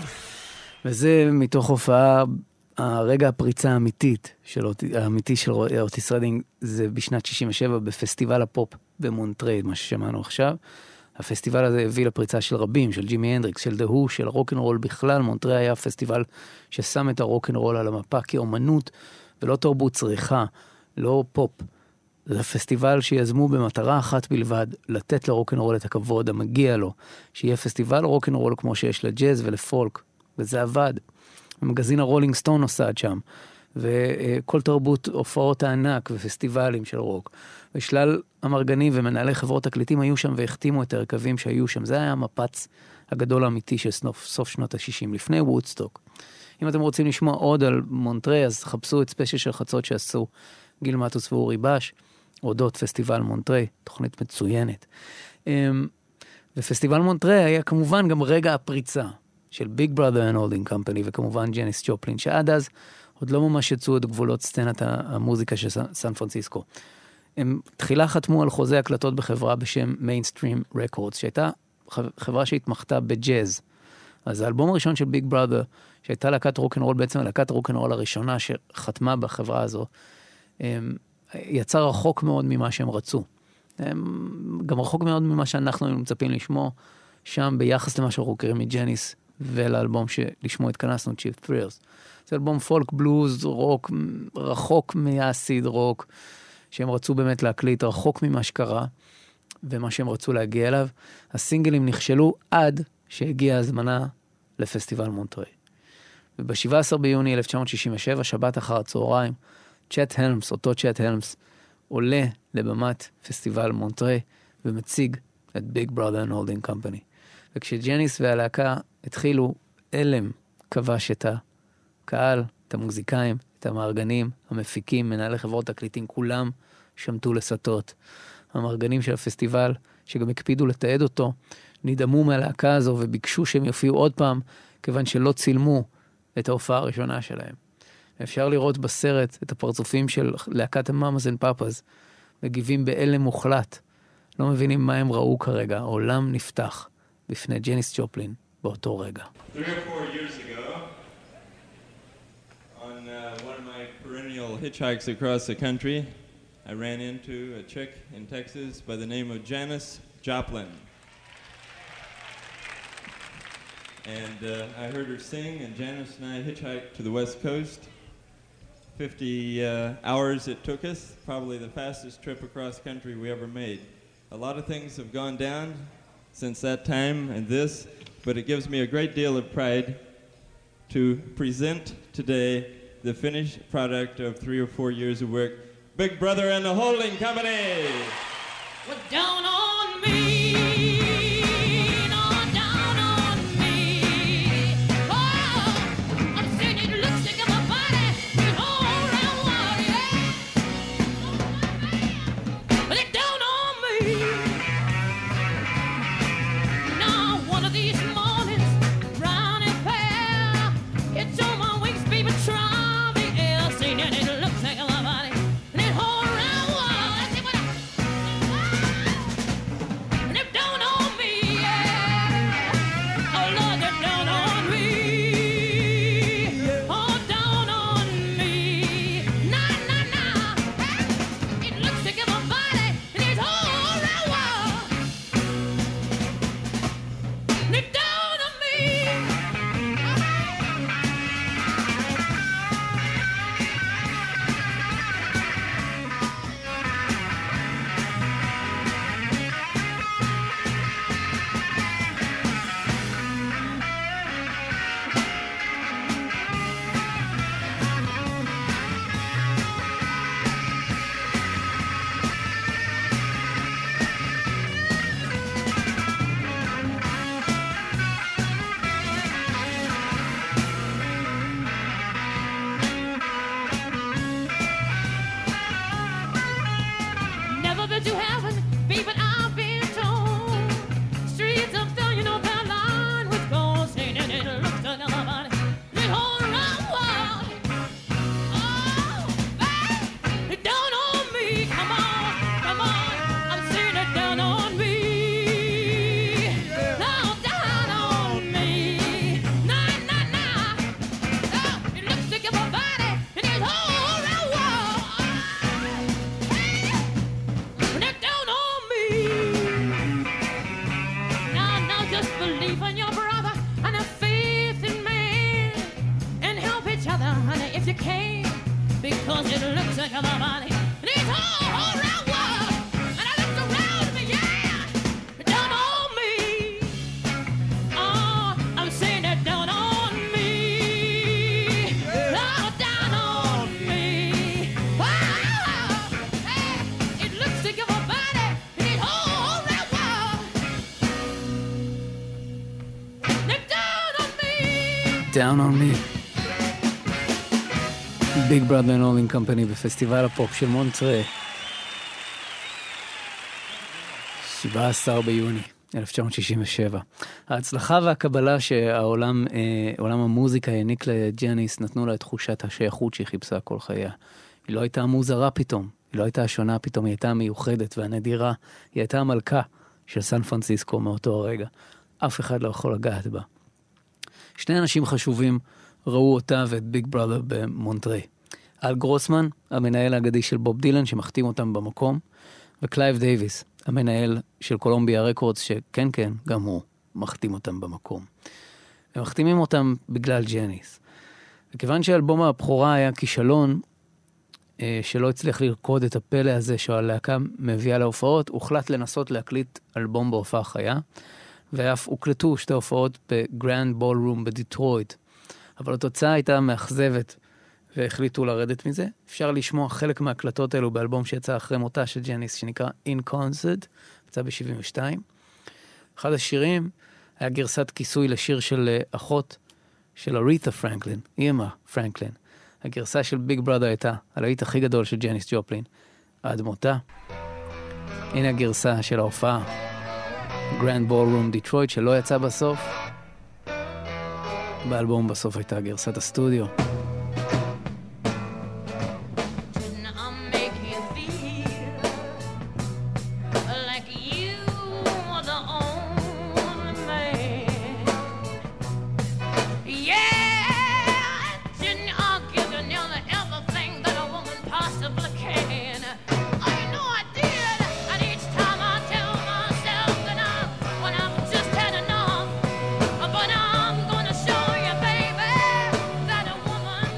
וזה מתוך הופעה, הרגע הפריצה האמיתית של, האמיתי של אוטיס רדינג זה בשנת שישים ושבע בפסטיבל הפופ במונטריי, מה ששמענו עכשיו. הפסטיבל הזה הביא לפריצה של רבים, של ג'ימי הנדריקס, של דהו, של הרוק'נ'רול בכלל. מונטריי היה פסטיבל ששם את הרוק'נ'רול על המפה כאומנות, ולא תרבות צריכה, לא פופ. זה פסטיבל שיזמו במטרה אחת בלבד, לתת לרוק'נ'רול את הכבוד המגיע לו, שיהיה פסטיבל רוק'נ'רול כמו שיש לג'אז ולפולק, וזה עבד. המגזין הרולינג סטון נוסד שם, וכל תרבות הופעות הענק ופסטיבלים של רוק. ושלל המרגנים ומנהלי חברות תקליטים היו שם והחתימו את הרכבים שהיו שם. זה היה המפץ הגדול האמיתי של סוף, סוף שנות ה-שישים, לפני וודסטוק. אם אתם רוצים לשמוע עוד על מונטריי, אז חפשו את ספיישל של חצות שעשו גיל מטוס ואורי בש, אודות פסטיבל מונטריי, תוכנית מצוינת. ופסטיבל מונטריי היה כמובן גם רגע הפריצה של ביג בראדר אנד הולדינג קמפני, וכמובן ג'ניס ג'ופלין, שעד אז עוד לא ממש יצאו את גבולות סצנת המוזיקה של סן פרנסיסקו. הם תחילה חתמו על חוזה הקלטות בחברה בשם מיינסטרים רקורדס, שהייתה חברה שהתמחתה בג'אז. אז האלבום הראשון של ביג בראדר, שהייתה להקת רוק'נ'רול, בעצם להקת רוק'נ'רול הראשונה שחתמה בחברה הזו, יצא רחוק מאוד ממה שהם רצו. גם רחוק מאוד ממה שאנחנו מצפים לשמוע שם, ביחס למה שאנחנו מכירים מג'ניס, ולאלבום שלשמו התכנסנו, Cheap Thrills. זה אלבום פולק, בלוז, רוק, רחוק מהסיד רוק, שהם רצו באמת להקליט, רחוק ממה שקרה, ומה שהם רצו להגיע אליו. הסינגלים נכשלו עד שהגיעה הזמנה לפסטיבל מונטריי. וב-שבעה עשר ביוני אלף תשע מאות שישים ושבע, שבת אחר הצהריים, צ'ט הלמס, אותו צ'ט הלמס, עולה לבמת פסטיבל מונטריי, ומציג את ביג בראדר אנד הולדינג קמפני. וכשג'ניס והלהקה התחילו, אלם כבש את הקהל, את המוזיקאים, את המארגנים, המפיקים, מנהלי חברות תקליטים, כולם שמתו לסטות. המארגנים של הפסטיבל, שגם הקפידו לתעד אותו, נדהמו מהלהקה הזו וביקשו שהם יופיעו עוד פעם, כיוון שלא צילמו את ההופעה הראשונה שלהם. אפשר לראות בסרט את הפרצופים של להקת המאמאז אנד פאפאז, מגיבים באלם מוחלט. לא מבינים מה הם ראו כרגע. העולם נפתח בפני ג'ניס ג'ופלין באותו רגע. Three or four years ago, on uh, one of my perennial hitchhikes across the country, I ran into a chick in Texas by the name of Janis Joplin. And uh, I heard her sing, and Janis and I hitchhiked to the West Coast. fifty uh, hours it took us, probably the fastest trip across country we ever made. A lot of things have gone down since that time, and this but it gives me a great deal of pride to present today the finished product of three or four years of work, Big Brother and the Holding Company. Well, down on me, no, down on me. Oh, I'm saying it looks like my body is all around water, yeah. But it's down on me. Now, one of these mornings, brown and fair, it's on my wings, baby, try the air. Saying that it looks like my body, and it's all around water. Let's see what I... And it's down on me, yeah. Oh, Lord, they're down on me. Oh, down on me. Nah, nah, nah. It looks like my body, and it's all around water. And it's down on me. Never been to heaven, babe, but I've been told. Streets of stone, you know, that line with gold. Saying that it looks like my body, this whole round world. Oh, babe, it's down on me. Come on, come on. I'm saying it down on me. Now down on me. Nah, nah, nah. Oh, it looks like my body, and this whole round world. When they're down on me. Now, now just believe in your brother and have faith in man and help each other, honey, if you can, because it looks like my body. And it's all, all around world. And I look around me, yeah. Down on me. Oh, I'm saying that down on me. Oh, down on me. Oh, hey, it looks like my body, and it's all around world. They're down on me. Down on me. ביג ברother and Holding Company בפסטיבל הפופ של מונטרה. שבעה עשר ביוני אלף תשע מאות שישים ושבע. ההצלחה והקבלה שהעולם, אה, עולם המוזיקה העניק לג'ניס נתנו לה את תחושת השייכות שהיא חיפשה כל חייה. היא לא הייתה מוזרה פתאום, היא לא הייתה שונה פתאום, היא הייתה המיוחדת והנדירה, היא הייתה המלכה של סן פרנסיסקו מאותו הרגע. אף אחד לא יכול לגעת בה. שני אנשים חשובים ראו אותה ואת ביג ברother במונטרי. אל גרוסמן, המנהל האגדי של בוב דילן שמחתים אותם במקום, וקלייב דייביס, המנהל של קולומביה רקורדס, שכן כן, גם הוא מחתים אותם במקום. הם מחתימים אותם בגלל ג'ניס. וכיוון שאלבום הבכורה היה כישלון, אה, שלא הצליח לרקוד את הפלא הזה שהלהקה מביאה להופעות, הוחלט לנסות להקליט אלבום בהופעה חיה, ואף הוקלטו שתי הופעות בגרנד בולרום בדיטרויט. אבל התוצאה הייתה מאכזבת, והחליטו לרדת מזה. אפשר לשמוע חלק מההקלטות האלו באלבום שיצא אחרי מותה של ג'ניס, שנקרא In Concert, יצא ב-שבעים ושתיים. אחד השירים היה גרסת כיסוי לשיר של אחות של אריתה פרנקלין, אימא פרנקלין. הגרסה של ביג ברother הייתה הלהיט הכי גדול של ג'ניס ג'ופלין עד מותה. הנה הגרסה של ההופעה, גרנד בולרום דיטרויט, שלא יצא בסוף. באלבום בסוף הייתה גרסת הסטודיו. But I'm gonna show you, baby, that a woman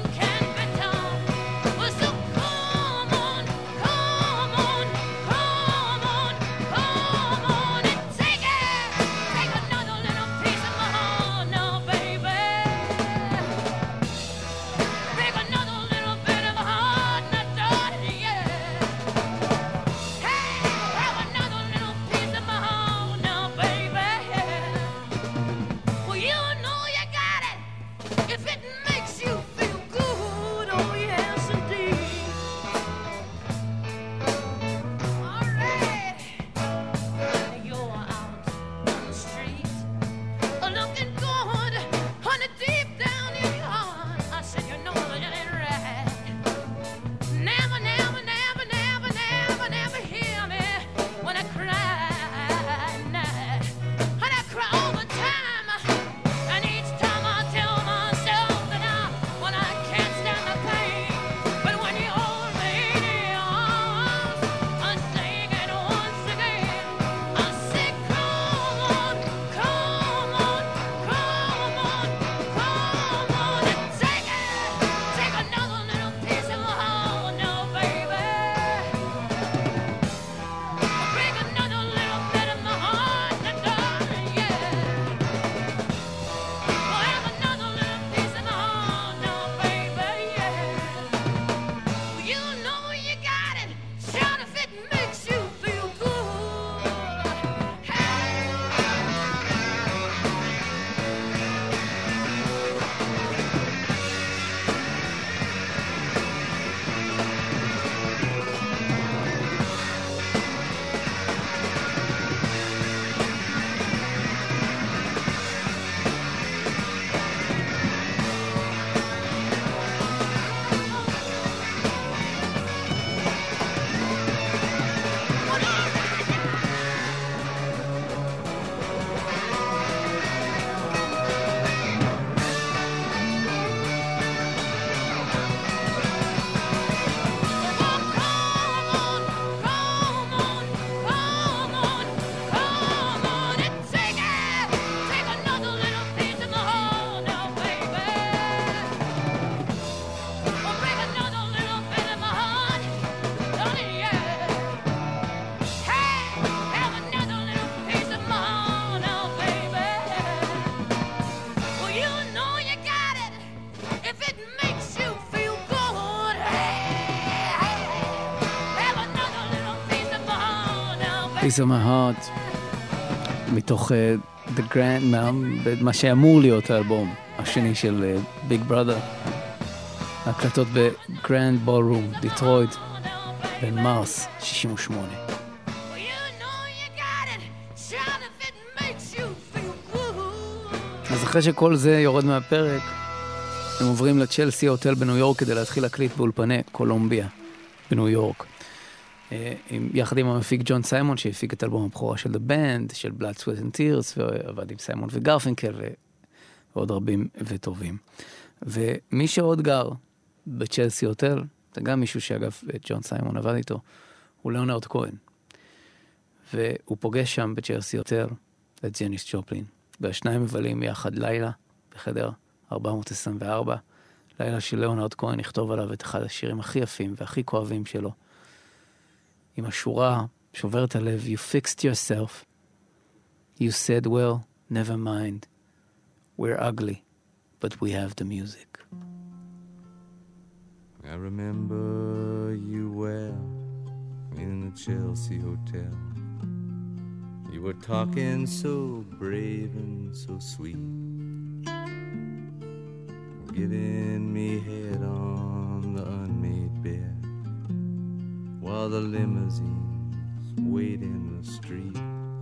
Piece of my heart, מתוך uh, The Grand, מה, מה שאמור להיות האלבום השני של uh, Big Brother, הקלטות ב-Grand Ballroom, דיטרויט, בין מרס שישים ושמונה. אז אחרי שכל זה יורד מהפרק, הם עוברים לצ'לסי הוטל בניו יורק כדי להתחיל להקליט באולפני קולומביה בניו יורק. יחד עם המפיק ג'ון סיימון, שהפיק את אלבום הבכורה של The Band, של Blood, Sweat and Tears, ועבד עם סיימון וגרפינקל, ועוד רבים וטובים. ומי שעוד גר בצ'לסי הוטל, זה גם מישהו שאגב ג'ון סיימון עבד איתו, הוא ליאונרד כהן. והוא פוגש שם בצ'לסי הוטל את ג'ניס ג'ופלין. והשניים מבלים יחד לילה בחדר ארבע מאות עשרים וארבע, לילה של ליאונרד כהן יכתוב עליו את אחד השירים הכי יפים והכי כואבים שלו. עם השורה שוברת הלב, You fixed yourself. You said, well, never mind. We're ugly, but we have the music. I remember you well in the Chelsea Hotel. You were talking so brave and so sweet, giving me head on the unmade bed, while the limousines wait in the street.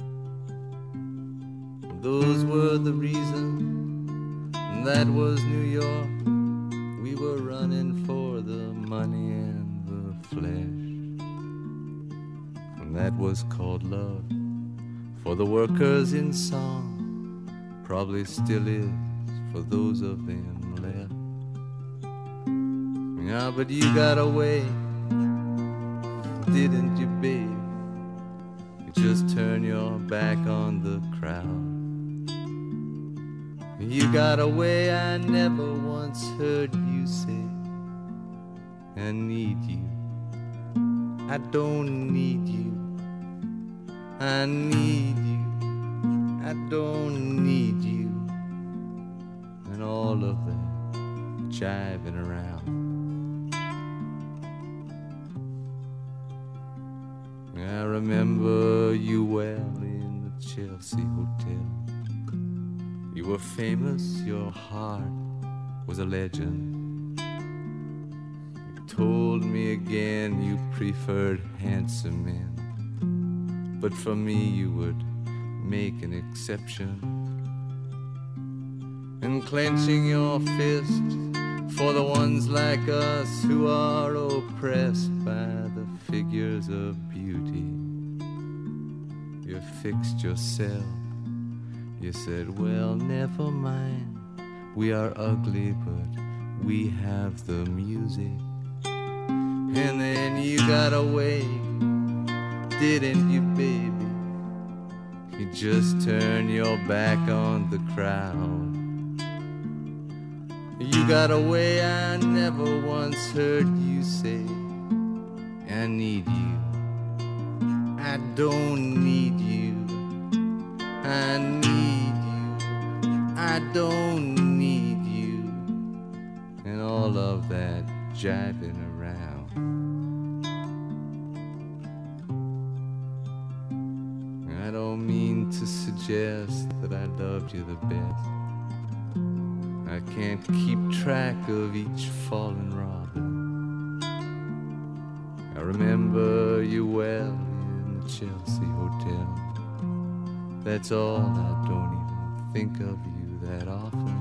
Those were the reasons, that was New York. We were running for the money and the flesh, and that was called love. For the workers in song, probably still is for those of them left. Yeah, but you got away, didn't you, babe? You just turn your back on the crowd. You got away, I never once heard you say, I need you, I don't need you, I need you, I don't need you, and all of that jiving around. I remember you well in the Chelsea Hotel. You were famous, your heart was a legend. You told me again you preferred handsome men, but for me you would make an exception. And clenching your fist for the ones like us who are oppressed by the figures of beauty, you fixed yourself. You said, well, never mind, we are ugly, but we have the music. And then you got away, didn't you, baby? You just turned your back on the crowd. You got away, I never once heard you say, I need you, I don't need you, I need you, I don't need you, and all of that jiving around. I don't mean to suggest that I loved you the best. I can't keep track of each fallen robin. I remember you well in the Chelsea Hotel. That's all, I don't even think of you that often.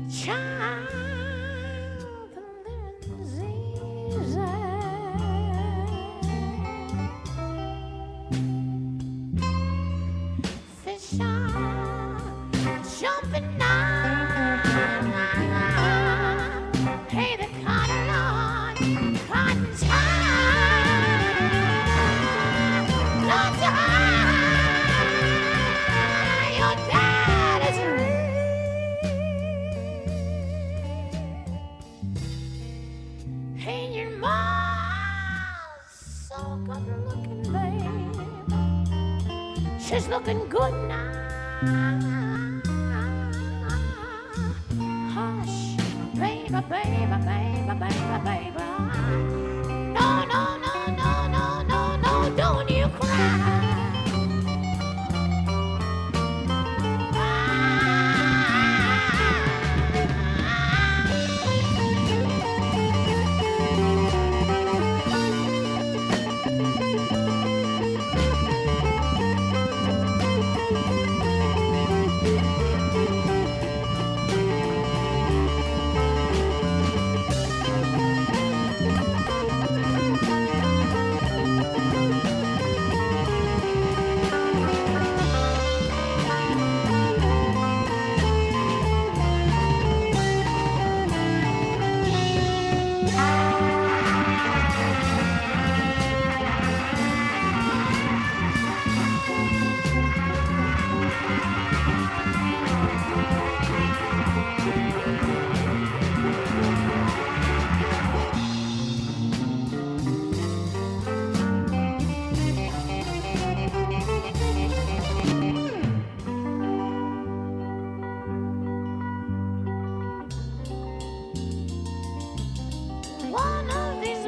Child, the living disease. nothing now. Hey, the cotton on, cotton's high. Lots of high. Your dad is rich. Hey, your mom's so good looking, babe. She's looking good now. Hush, baby, baby, baby, baby, baby. No, no, no, no, no, no, no, don't you cry. One of these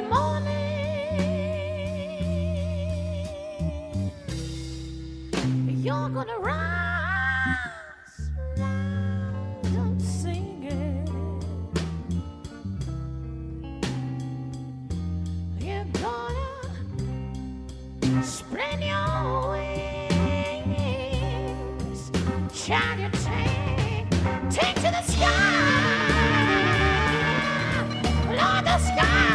mornings, you're gonna rise, rise and sing it. You're gonna spread your wings, shine your tank, take to the sky. Lord, the sky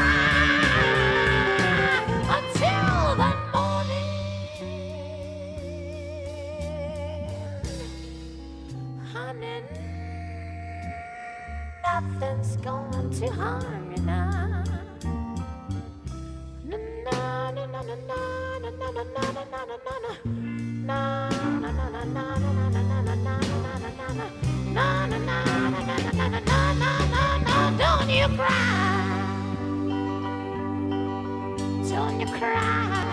until the morning. Honey, nothing's going to harm you now. Na na na na na na na na na na na na na na na na na don't you cry, don't you cry,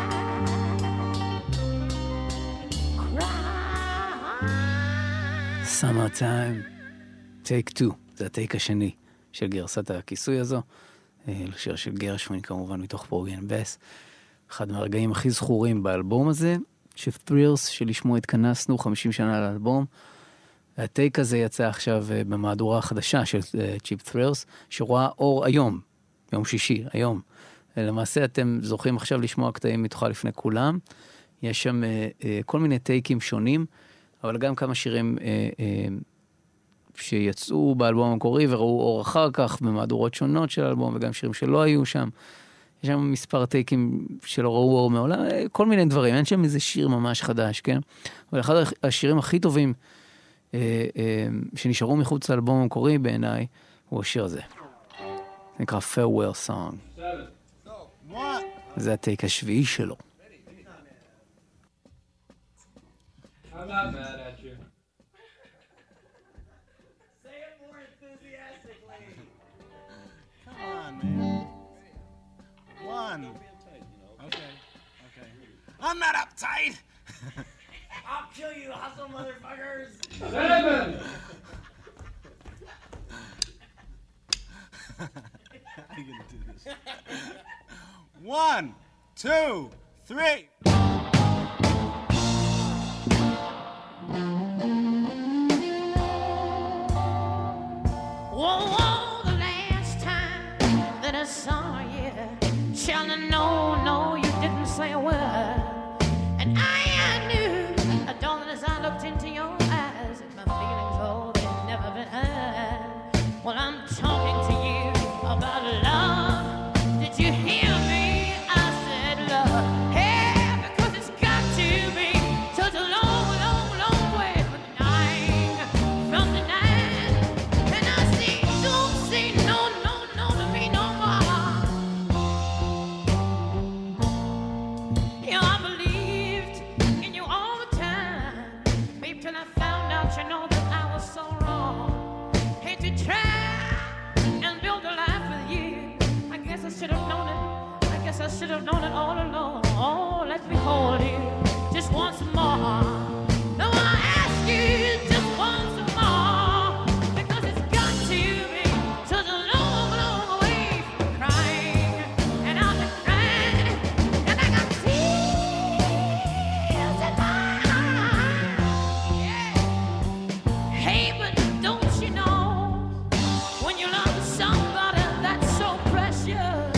cry. Summer time, take two, זה הטייק השני של גרסת הכיסוי הזו, לשיר של גרשווין כמובן מתוך פורגן בס, אחד מהרגעים הכי זכורים באלבום הזה, שת'רילס שלשמו התכנסנו חמישים שנה לאלבום. הטייק הזה יצא עכשיו במהדורה החדשה של צ'יפ ת'רילס, שרואה אור היום, יום שישי, היום. למעשה אתם זוכים עכשיו לשמוע קטעים מתוכה לפני כולם. יש שם כל מיני טייקים שונים, אבל גם כמה שירים שיצאו באלבום המקורי וראו אור אחר כך במהדורות שונות של האלבום, וגם שירים שלא היו שם. יש שם מספר טייקים שלא ראו אור מעולם, כל מיני דברים. אין שם איזה שיר ממש חדש, כן? אבל אחד השירים הכי טובים שנשארו מחוץ לאלבום המקורי בעיניי, הוא השיר הזה. זה נקרא Farewell Song. זה הטייק השביעי שלו. I'm not mad at you. Say it more enthusiastically. Come on, man. One. Okay. Okay. I'm not uptight. I'll kill you, hustle motherfuckers. Seven. How are you gonna do this? One, two, three. Whoa, whoa, the last time that I saw you, Sheldon, no, no, you didn't say a word. And I, I knew, darling, as I looked into your eyes, that my feelings, oh, they've never been heard. Well, I'm talking to you about love. Did you hear me? I said love. Hey, because it's got to be such a long, long, long way from denying, from denying. I should have known it all along. Oh, let me hold you just once more. Now I ask you just once more, because it's got to be such a long, long way from crying. And I've been crying, and I got tears in my eyes. Yeah. Hey, but don't you know, when you love somebody that's so precious,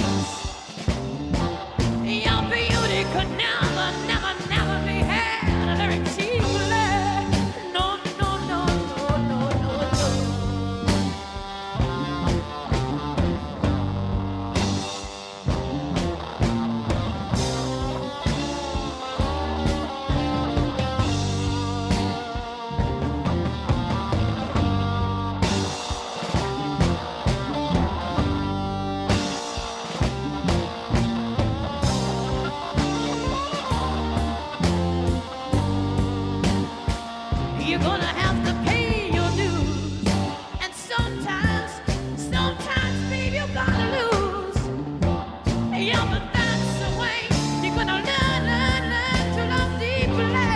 your beauty could never, never, never be had very cheaply. No, no, no, no, no, no, no. You're gonna have to pay your dues, and sometimes, sometimes, baby, you gotta lose. Yeah, but that's the way you're gonna learn, learn, learn to love deeply.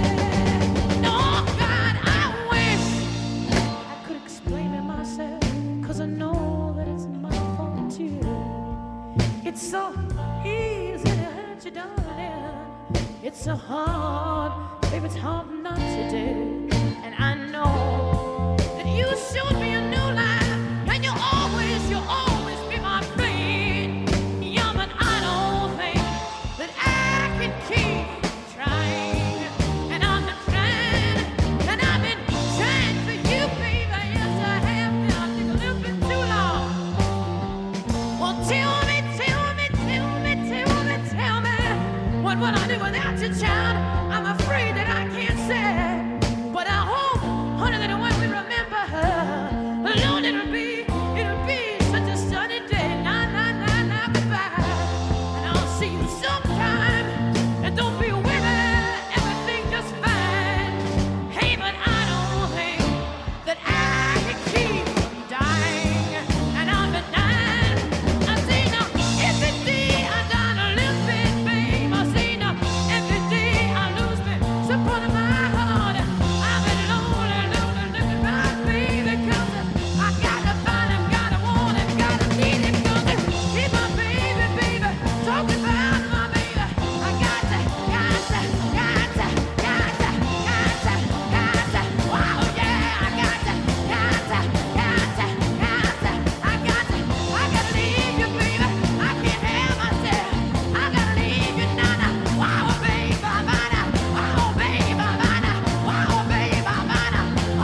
No, God, I wish I could explain it myself, 'cause I know that it's my fault too. It's so easy to hurt you, darling. It's so hard, baby, it's hard not to do. And I know that you showed me a new life, and you'll always, you'll always be my friend. Yeah, but I don't think that I can keep trying. And I've been trying, and I've been trying for you, baby. Yes, I have been. I think a little bit too long. Well, tell me, tell me, tell me, tell me, tell me, what would I do without you, child? I'm afraid that I can't say. But I hope, honey, that when we remember her, Lord, it'll be, it'll be such a sunny day. Nah, nah, nah, nah, goodbye. And I'll see you sometime. And don't be worried, everything just fine. Hey, but I don't think that I can keep from dying. And I've been dying. I say now, every day I die a little bit, babe. I say now, every day I lose me some part of my heart. I've been lonely, lonely, looking right, baby, 'cause I gotta find him, gotta want him, gotta need him, 'cause he's my baby, baby. Talking about my baby. I got to, got to, got to, got to, got to, got to. Wow, yeah, I got to, got to, got to, got to. I got to, I gotta leave you, baby. I can't help myself. I gotta leave you, nana. Wow, baby, bana. Wow, baby, bana. Wow, baby, bana.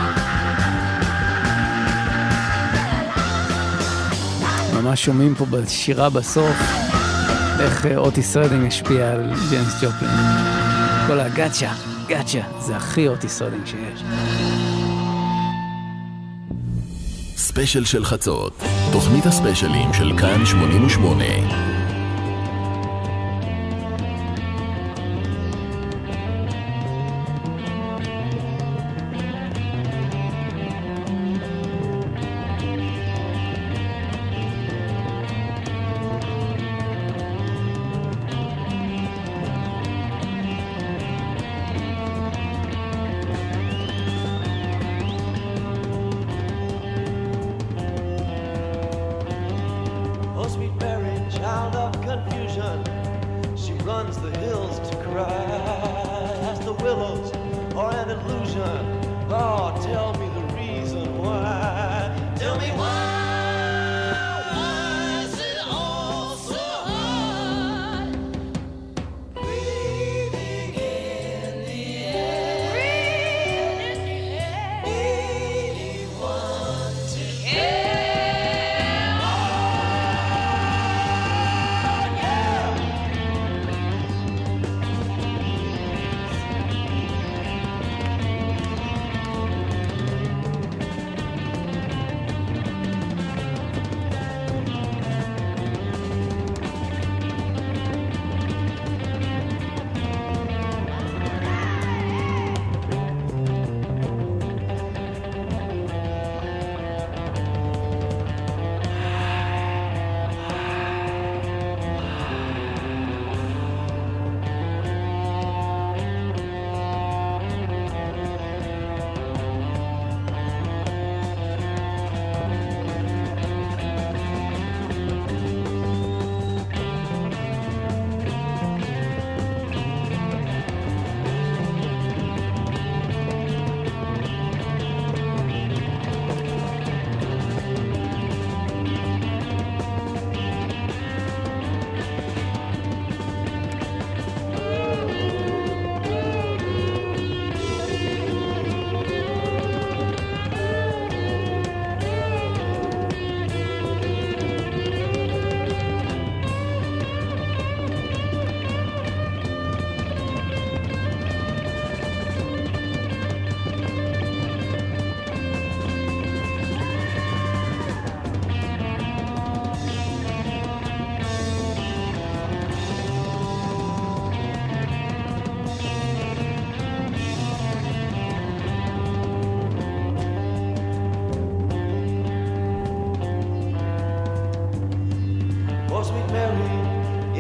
ממש שומעים פה בשירה בסוף איך אה, אוטיס רדינג השפיע על ג'יימס ג'ופלין. כל הגאצ'ה, גאצ'ה, זה הכי אוטיס רדינג שיש. ספיישל של חצות, תוכנית הספיישלים של כאן שמונים ושמונה. Oh, sweet Mary, child of confusion, she runs the hills to cry. As the willows are an illusion, oh, tell me the reason why. Tell me why. Is it all so hard? Breathing in the air, breathing in the air, needing one to care.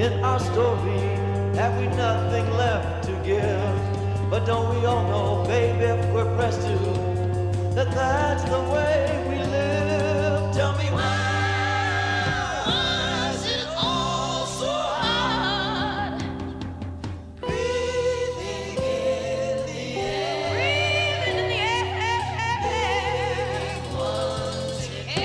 in our story? Have we nothing left to give? But don't we all know, baby, if we're pressed to, that that's the way we live? Tell me why is it all so hard? Breathing in the air, breathing in the air, once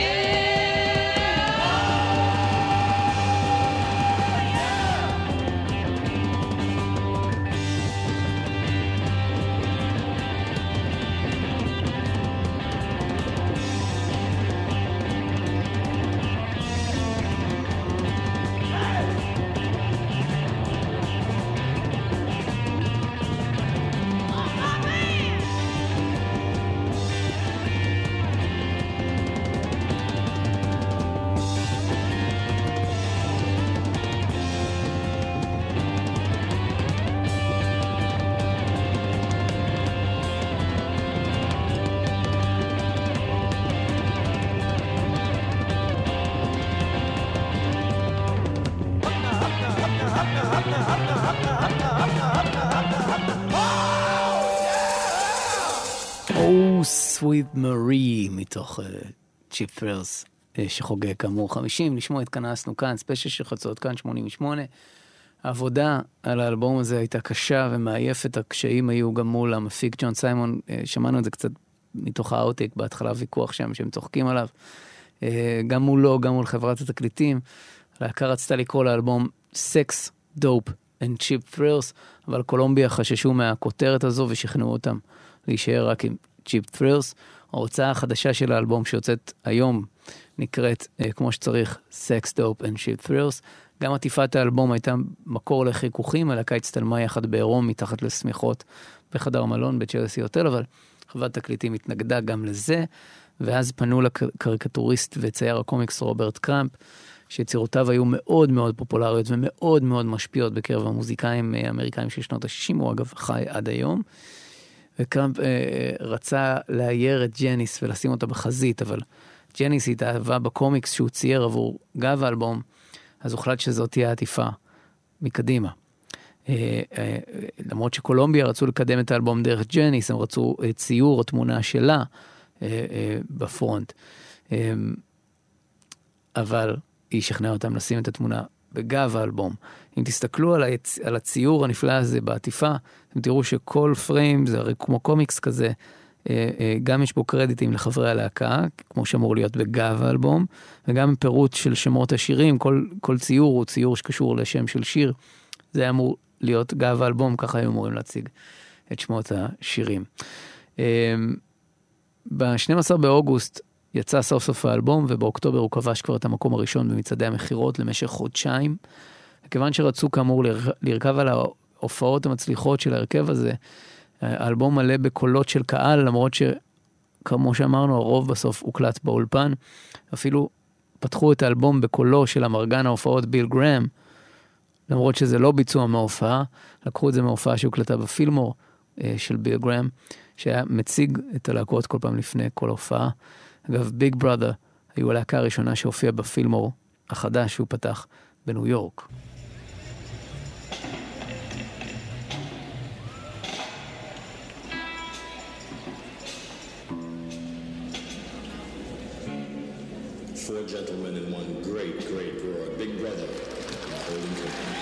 Oh, Sweet Marie, מתוך צ'יפ פרס, שחוגג כאמור חמישים. לשמוע התכנסנו כאן, ספיישל של חצות, כאן שמונים ושמונה. העבודה על האלבום הזה הייתה קשה ומעייפת, הקשיים היו גם מול המפיק ג'ון סיימון, שמענו את זה קצת מתוך האוטק, בהתחלה ויכוח שם שהם צוחקים עליו, גם מולו, גם מול חברת התקליטים. להקה רצתה לקרוא לאלבום Sex, Dope and Cheap Thrills, אבל קולומביה חששו מהכותרת הזו ושכנעו אותם להישאר רק עם Cheap Thrills. ההוצאה החדשה של האלבום שיוצאת היום נקראת כמו שצריך Sex, Dope and Cheap Thrills. גם עטיפת האלבום הייתה מקור לחיכוכים, הלהקה הצטלמה יחד בעירום מתחת לשמיכות בחדר מלון בצ'לסי הוטל, אבל חברת תקליטים התנגדה גם לזה, ואז פנו לקריקטוריסט וצייר הקומיקס רוברט קראמפ, שיצירותיו היו מאוד מאוד פופולריות ומאוד מאוד משפיעות בקרב המוזיקאים האמריקאים של שנות ה-שישים, הוא אגב חי עד היום, וקראמפ אה, רצה לאייר את ג'ניס ולשים אותה בחזית, אבל ג'ניס התאהבה בקומיקס שהוא צייר עבור גב האלבום, אז הוחלט שזאת תהיה עטיפה מקדימה. אה, אה, למרות שקולומביה רצו לקדם את האלבום דרך ג'ניס, הם רצו אה, ציור או תמונה שלה אה, אה, בפרונט. אה, אבל היא שכנעה אותם לשים את התמונה בגב האלבום. אם תסתכלו על, היצ... על הציור הנפלא הזה בעטיפה, אתם תראו שכל פריים זה הרי כמו קומיקס כזה, אה, אה, גם יש בו קרדיטים לחברי הלהקה, כמו שאמור להיות בגב האלבום, וגם פירוט של שמות השירים, כל, כל ציור הוא ציור שקשור לשם של שיר, זה אמור להיות גב האלבום, ככה היו אמורים להציג את שמות השירים. אה, ב-שנים עשר באוגוסט, יצא סוף סוף האלבום, ובאוקטובר הוא כבש כבר את המקום הראשון במצעדי המחירות למשך חודשיים. וכיוון שרצו כאמור לרכב על ההופעות המצליחות של ההרכב הזה, האלבום מלא בקולות של קהל, למרות שכמו שאמרנו, הרוב בסוף הוקלט באולפן. אפילו פתחו את האלבום בקולו של המרגן ההופעות ביל גרם, למרות שזה לא ביצוע מההופעה, לקחו את זה מההופעה שהוקלטה בפילמור של ביל גרם, שהיה מציג את הלהקות כל פעם לפני כל הופעה. אגב, ביג בראדר היו הלהקה הראשונה שהופיעה בפילמור החדש שהוא פתח בניו יורק. Four gentlemen in one great, great roar. Big Brother. Holding company.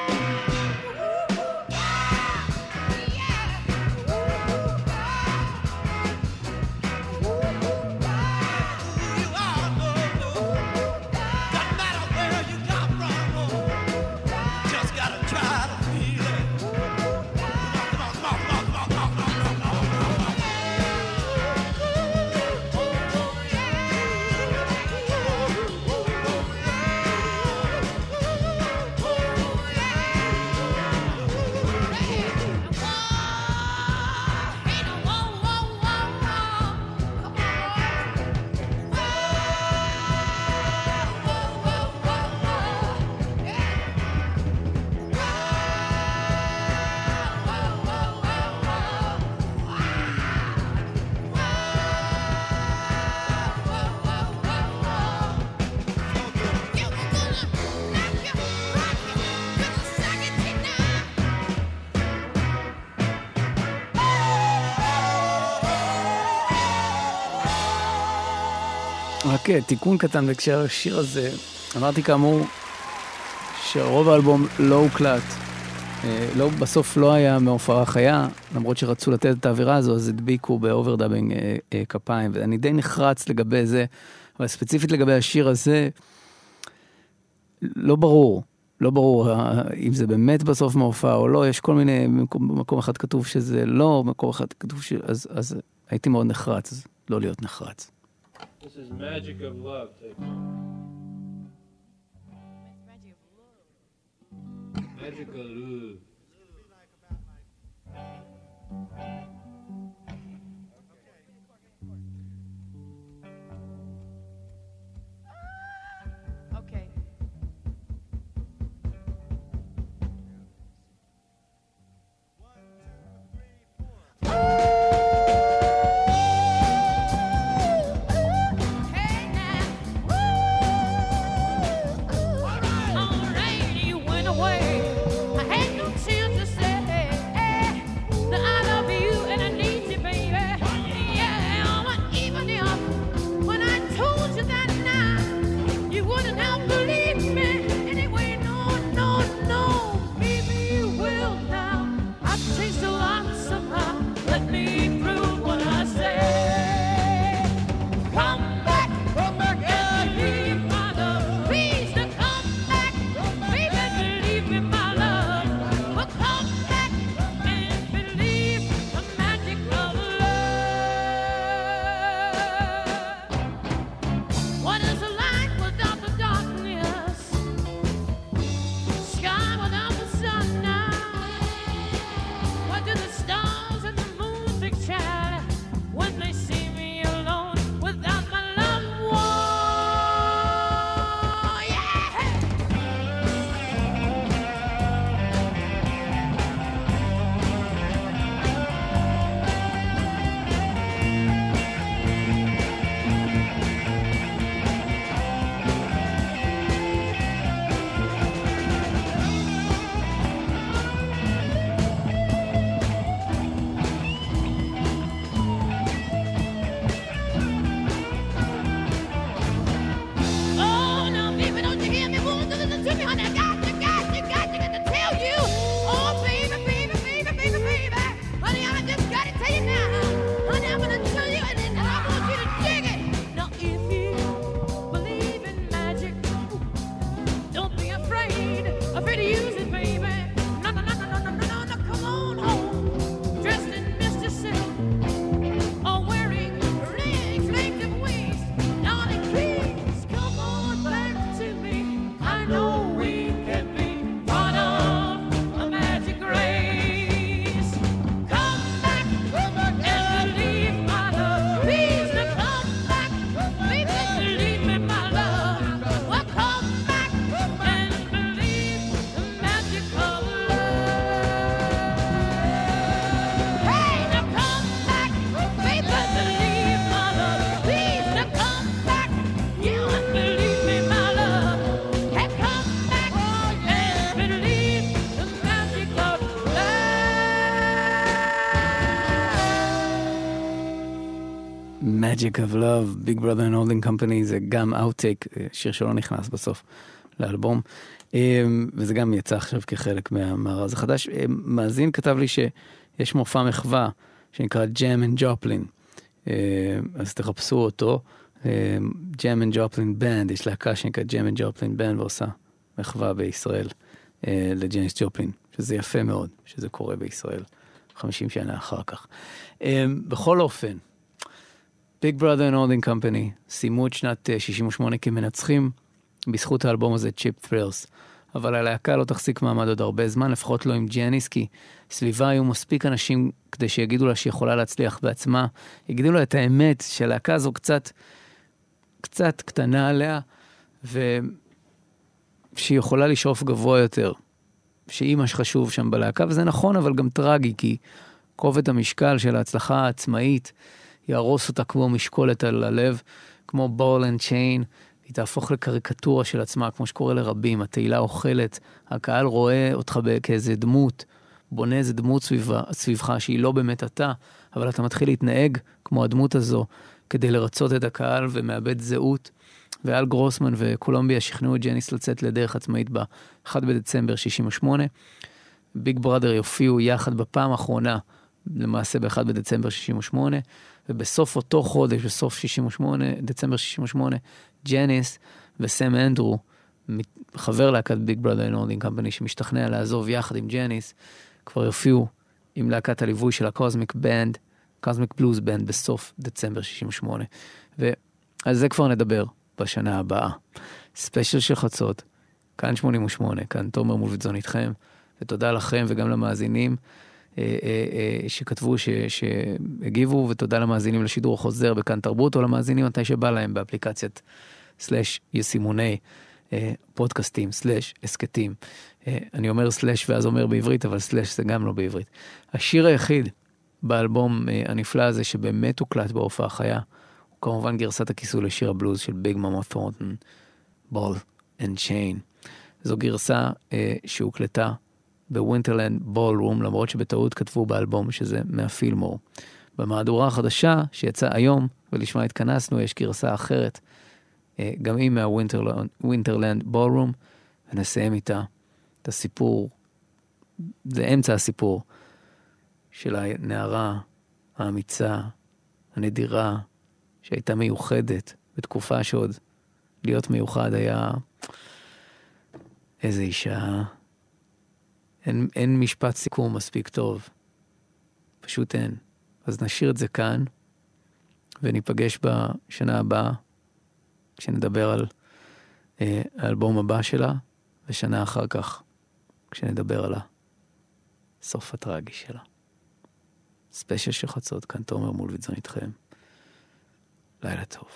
רק תיקון קטן בהקשר השיר הזה, אמרתי כאמור שרוב האלבום לא הוקלט, לא, בסוף לא היה מהופעה חיה, למרות שרצו לתת את האווירה הזו, אז הדביקו באוברדאבינג אה, אה, כפיים, ואני די נחרץ לגבי זה, אבל ספציפית לגבי השיר הזה, לא ברור, לא ברור אם זה באמת בסוף מהופעה או לא, יש כל מיני, במקום אחד כתוב שזה לא, במקום אחד כתוב ש... אז, אז הייתי מאוד נחרץ, אז לא להיות נחרץ. This is Magic of Love. Take it. Magic of Love. Okay. Magic of Love, Big Brother and Holding Company, זה גם Outtake, שיר שלא נכנס בסוף לאלבום. וזה גם יצא עכשיו כחלק מהמארז החדש. מאזין כתב לי שיש מופע מחווה שנקרא ג'ם אנד ג'ופלין. אז תחפשו אותו. ג'ם אנד ג'ופלין בנד, יש להקה שנקרא ג'ם אנד ג'ופלין בנד, ועושה מחווה בישראל לג'ניס ג'ופלין, שזה יפה מאוד, שזה קורה בישראל חמישים שנה אחר כך. בכל אופן, Big Brother and Holding Company סיימו את שנת שישים ושמונה כמנצחים בזכות האלבום הזה, Cheap Thrills. אבל הלהקה לא תחזיק מעמד עוד הרבה זמן, לפחות לא עם ג'ניס, כי סביבה היו מספיק אנשים כדי שיגידו לה שהיא יכולה להצליח בעצמה, יגידו לה את האמת שהלהקה הזו קצת, קצת קטנה עליה, ושהיא יכולה לשאוף גבוה יותר, שהיא מה שחשוב שם בלהקה, וזה נכון, אבל גם טרגי, כי כובד המשקל של ההצלחה העצמאית יהרוס אותה כמו משקולת על הלב, כמו בול אנד צ'יין, היא תהפוך לקריקטורה של עצמה, כמו שקורה לרבים, התהילה אוכלת, הקהל רואה אותך כאיזה דמות, בונה איזה דמות סביבה, סביבך, שהיא לא באמת אתה, אבל אתה מתחיל להתנהג כמו הדמות הזו, כדי לרצות את הקהל ומאבד זהות, ואל גרוסמן וקולומביה שכנעו את ג'ניס לצאת לדרך עצמאית ב-אחד בדצמבר שישים ושמונה, ביג בראדר יופיעו יחד בפעם האחרונה, למעשה ב-אחד בדצמבר שישים ושמונה, ובסוף אותו חודש, בסוף שישים ושמונה, דצמבר שישים ושמונה, ג'ניס וסם אנדרו, חבר להקת ביג בראדר אנד הולדינג קמפני, שמשתכנע לעזוב יחד עם ג'ניס, כבר יופיעו עם להקת הליווי של הקוזמיק בנד, קוזמיק בלוז בנד, בסוף דצמבר שישים ושמונה. ועל זה כבר נדבר בשנה הבאה. ספיישל של חצות, כאן שמונים ושמונה, כאן תומר מולביטזון איתכם, ותודה לכם וגם למאזינים שכתבו, שהגיבו, ותודה למאזינים לשידור החוזר בכאן תרבות, או למאזינים מתי שבא להם באפליקציית סלש יסימוני פודקאסטים, סלש הסקטים. אני אומר סלש ואז אומר בעברית, אבל סלש זה גם לא בעברית. השיר היחיד באלבום הנפלא הזה שבאמת הוקלט בהופעה חיה, הוא כמובן גרסת הכיסוי לשיר הבלוז של ביג מאמה ת'ורנטון, בול אנד צ'יין. זו גרסה שהוקלטה בווינטרלנד בולרום, למרות שבטעות כתבו באלבום שזה מהפילמור. במהדורה החדשה שיצא היום, ולשמה התכנסנו, יש גרסה אחרת, גם היא מהווינטרלנד בולרום, ונסיים איתה את הסיפור, זה אמצע הסיפור, של הנערה האמיצה, הנדירה, שהייתה מיוחדת, בתקופה שעוד להיות מיוחד היה איזה אישה, אין, אין משפט סיכום מספיק טוב. פשוט אין. אז נשאיר את זה כאן, וניפגש בשנה הבאה, כשנדבר על אה, האלבום הבא שלה, ושנה אחר כך, כשנדבר על הסוף הטרגי שלה. ספיישל של חצות, כאן תומר מולביטזון איתכם. לילה טוב.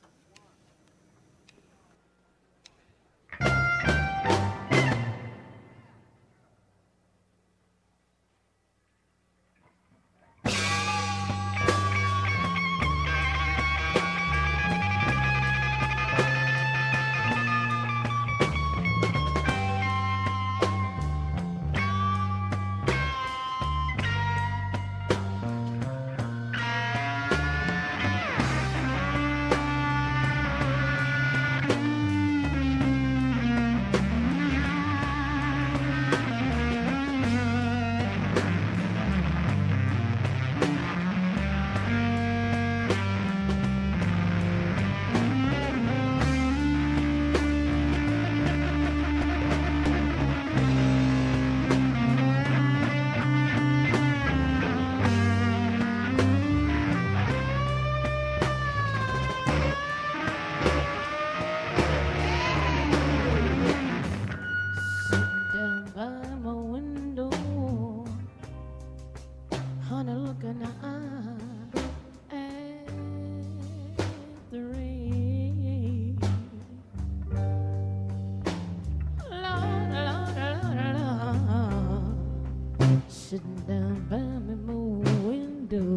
Sitting down by me window,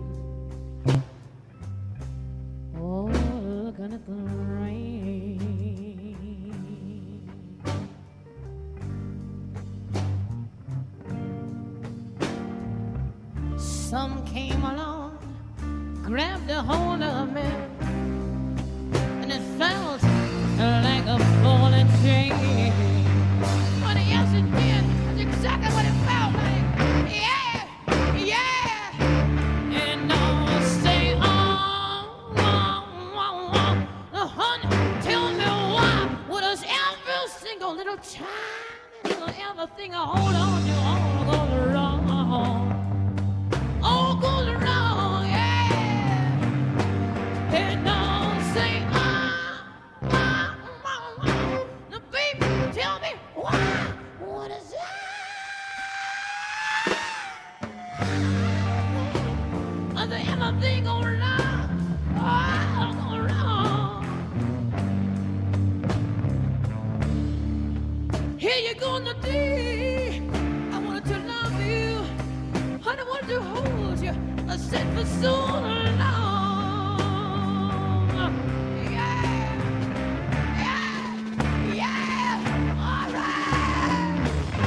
oh, looking at the rain. Some came along, grabbed a hold of me, and it felt like a ball and chain. everything I hold on to all goes wrong. All goes wrong, yeah. And I'll say, ah, ah, ah, ah. Now, baby, tell me why? What is that? I say, everything goes wrong. All goes wrong. Here you go, Nadine. I wanted to love you. I wanted to hold you. I said for so long. Yeah, yeah, yeah. All right.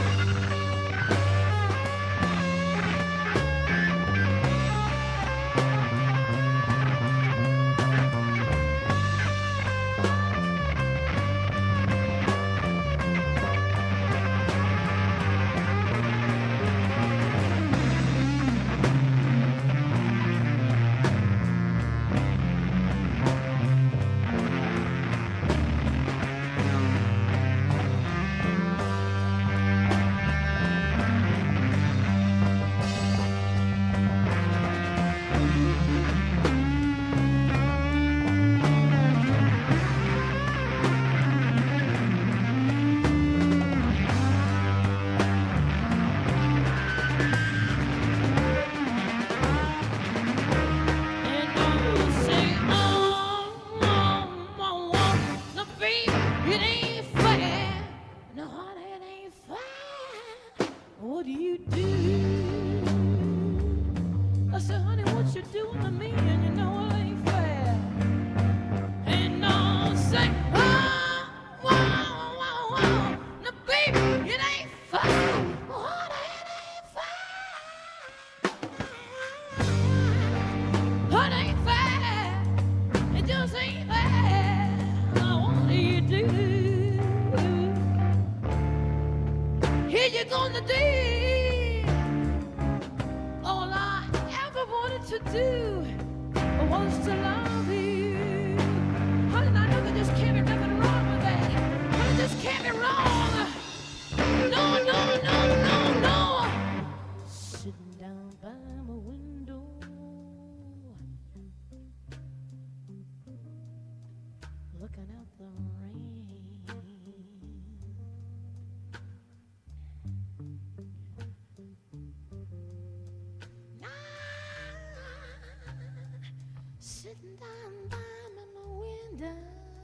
Sitting down by my window,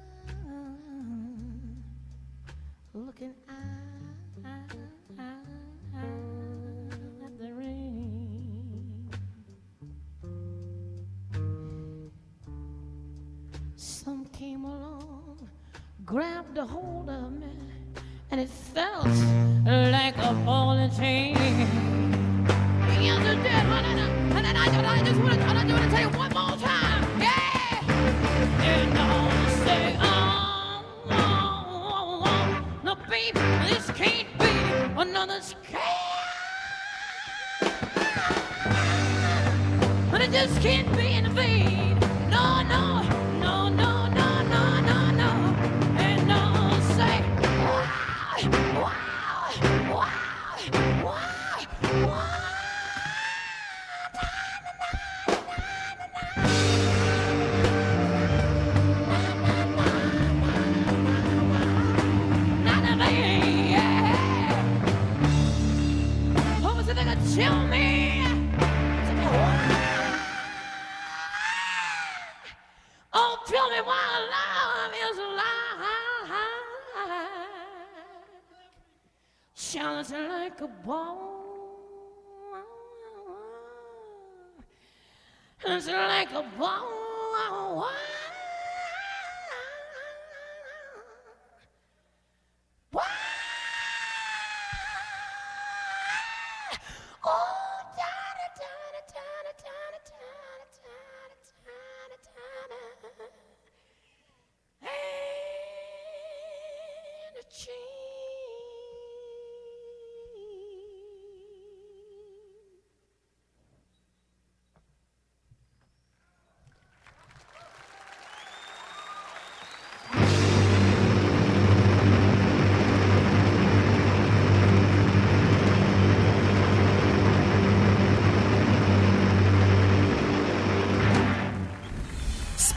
looking out at the rain. Some came along, grabbed a hold of me, and it felt like a ball and chain. Yes, it did, honey. And then I, I just want to, I just want to tell you one more time, yeah. And I'll say, oh, oh, oh, oh. No, baby, this can't be another scam. But it just can't be in vain. No, no, no, no, no, no, no, no. And I'll say, wow, wow, wow, wow, wow. Tell me, oh, tell me why love is alive. Shines like a ball, it's like a ball.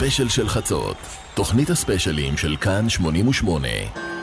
הספיישל של חצות, תוכנית הספיישלים של כאן שמונים ושמונה.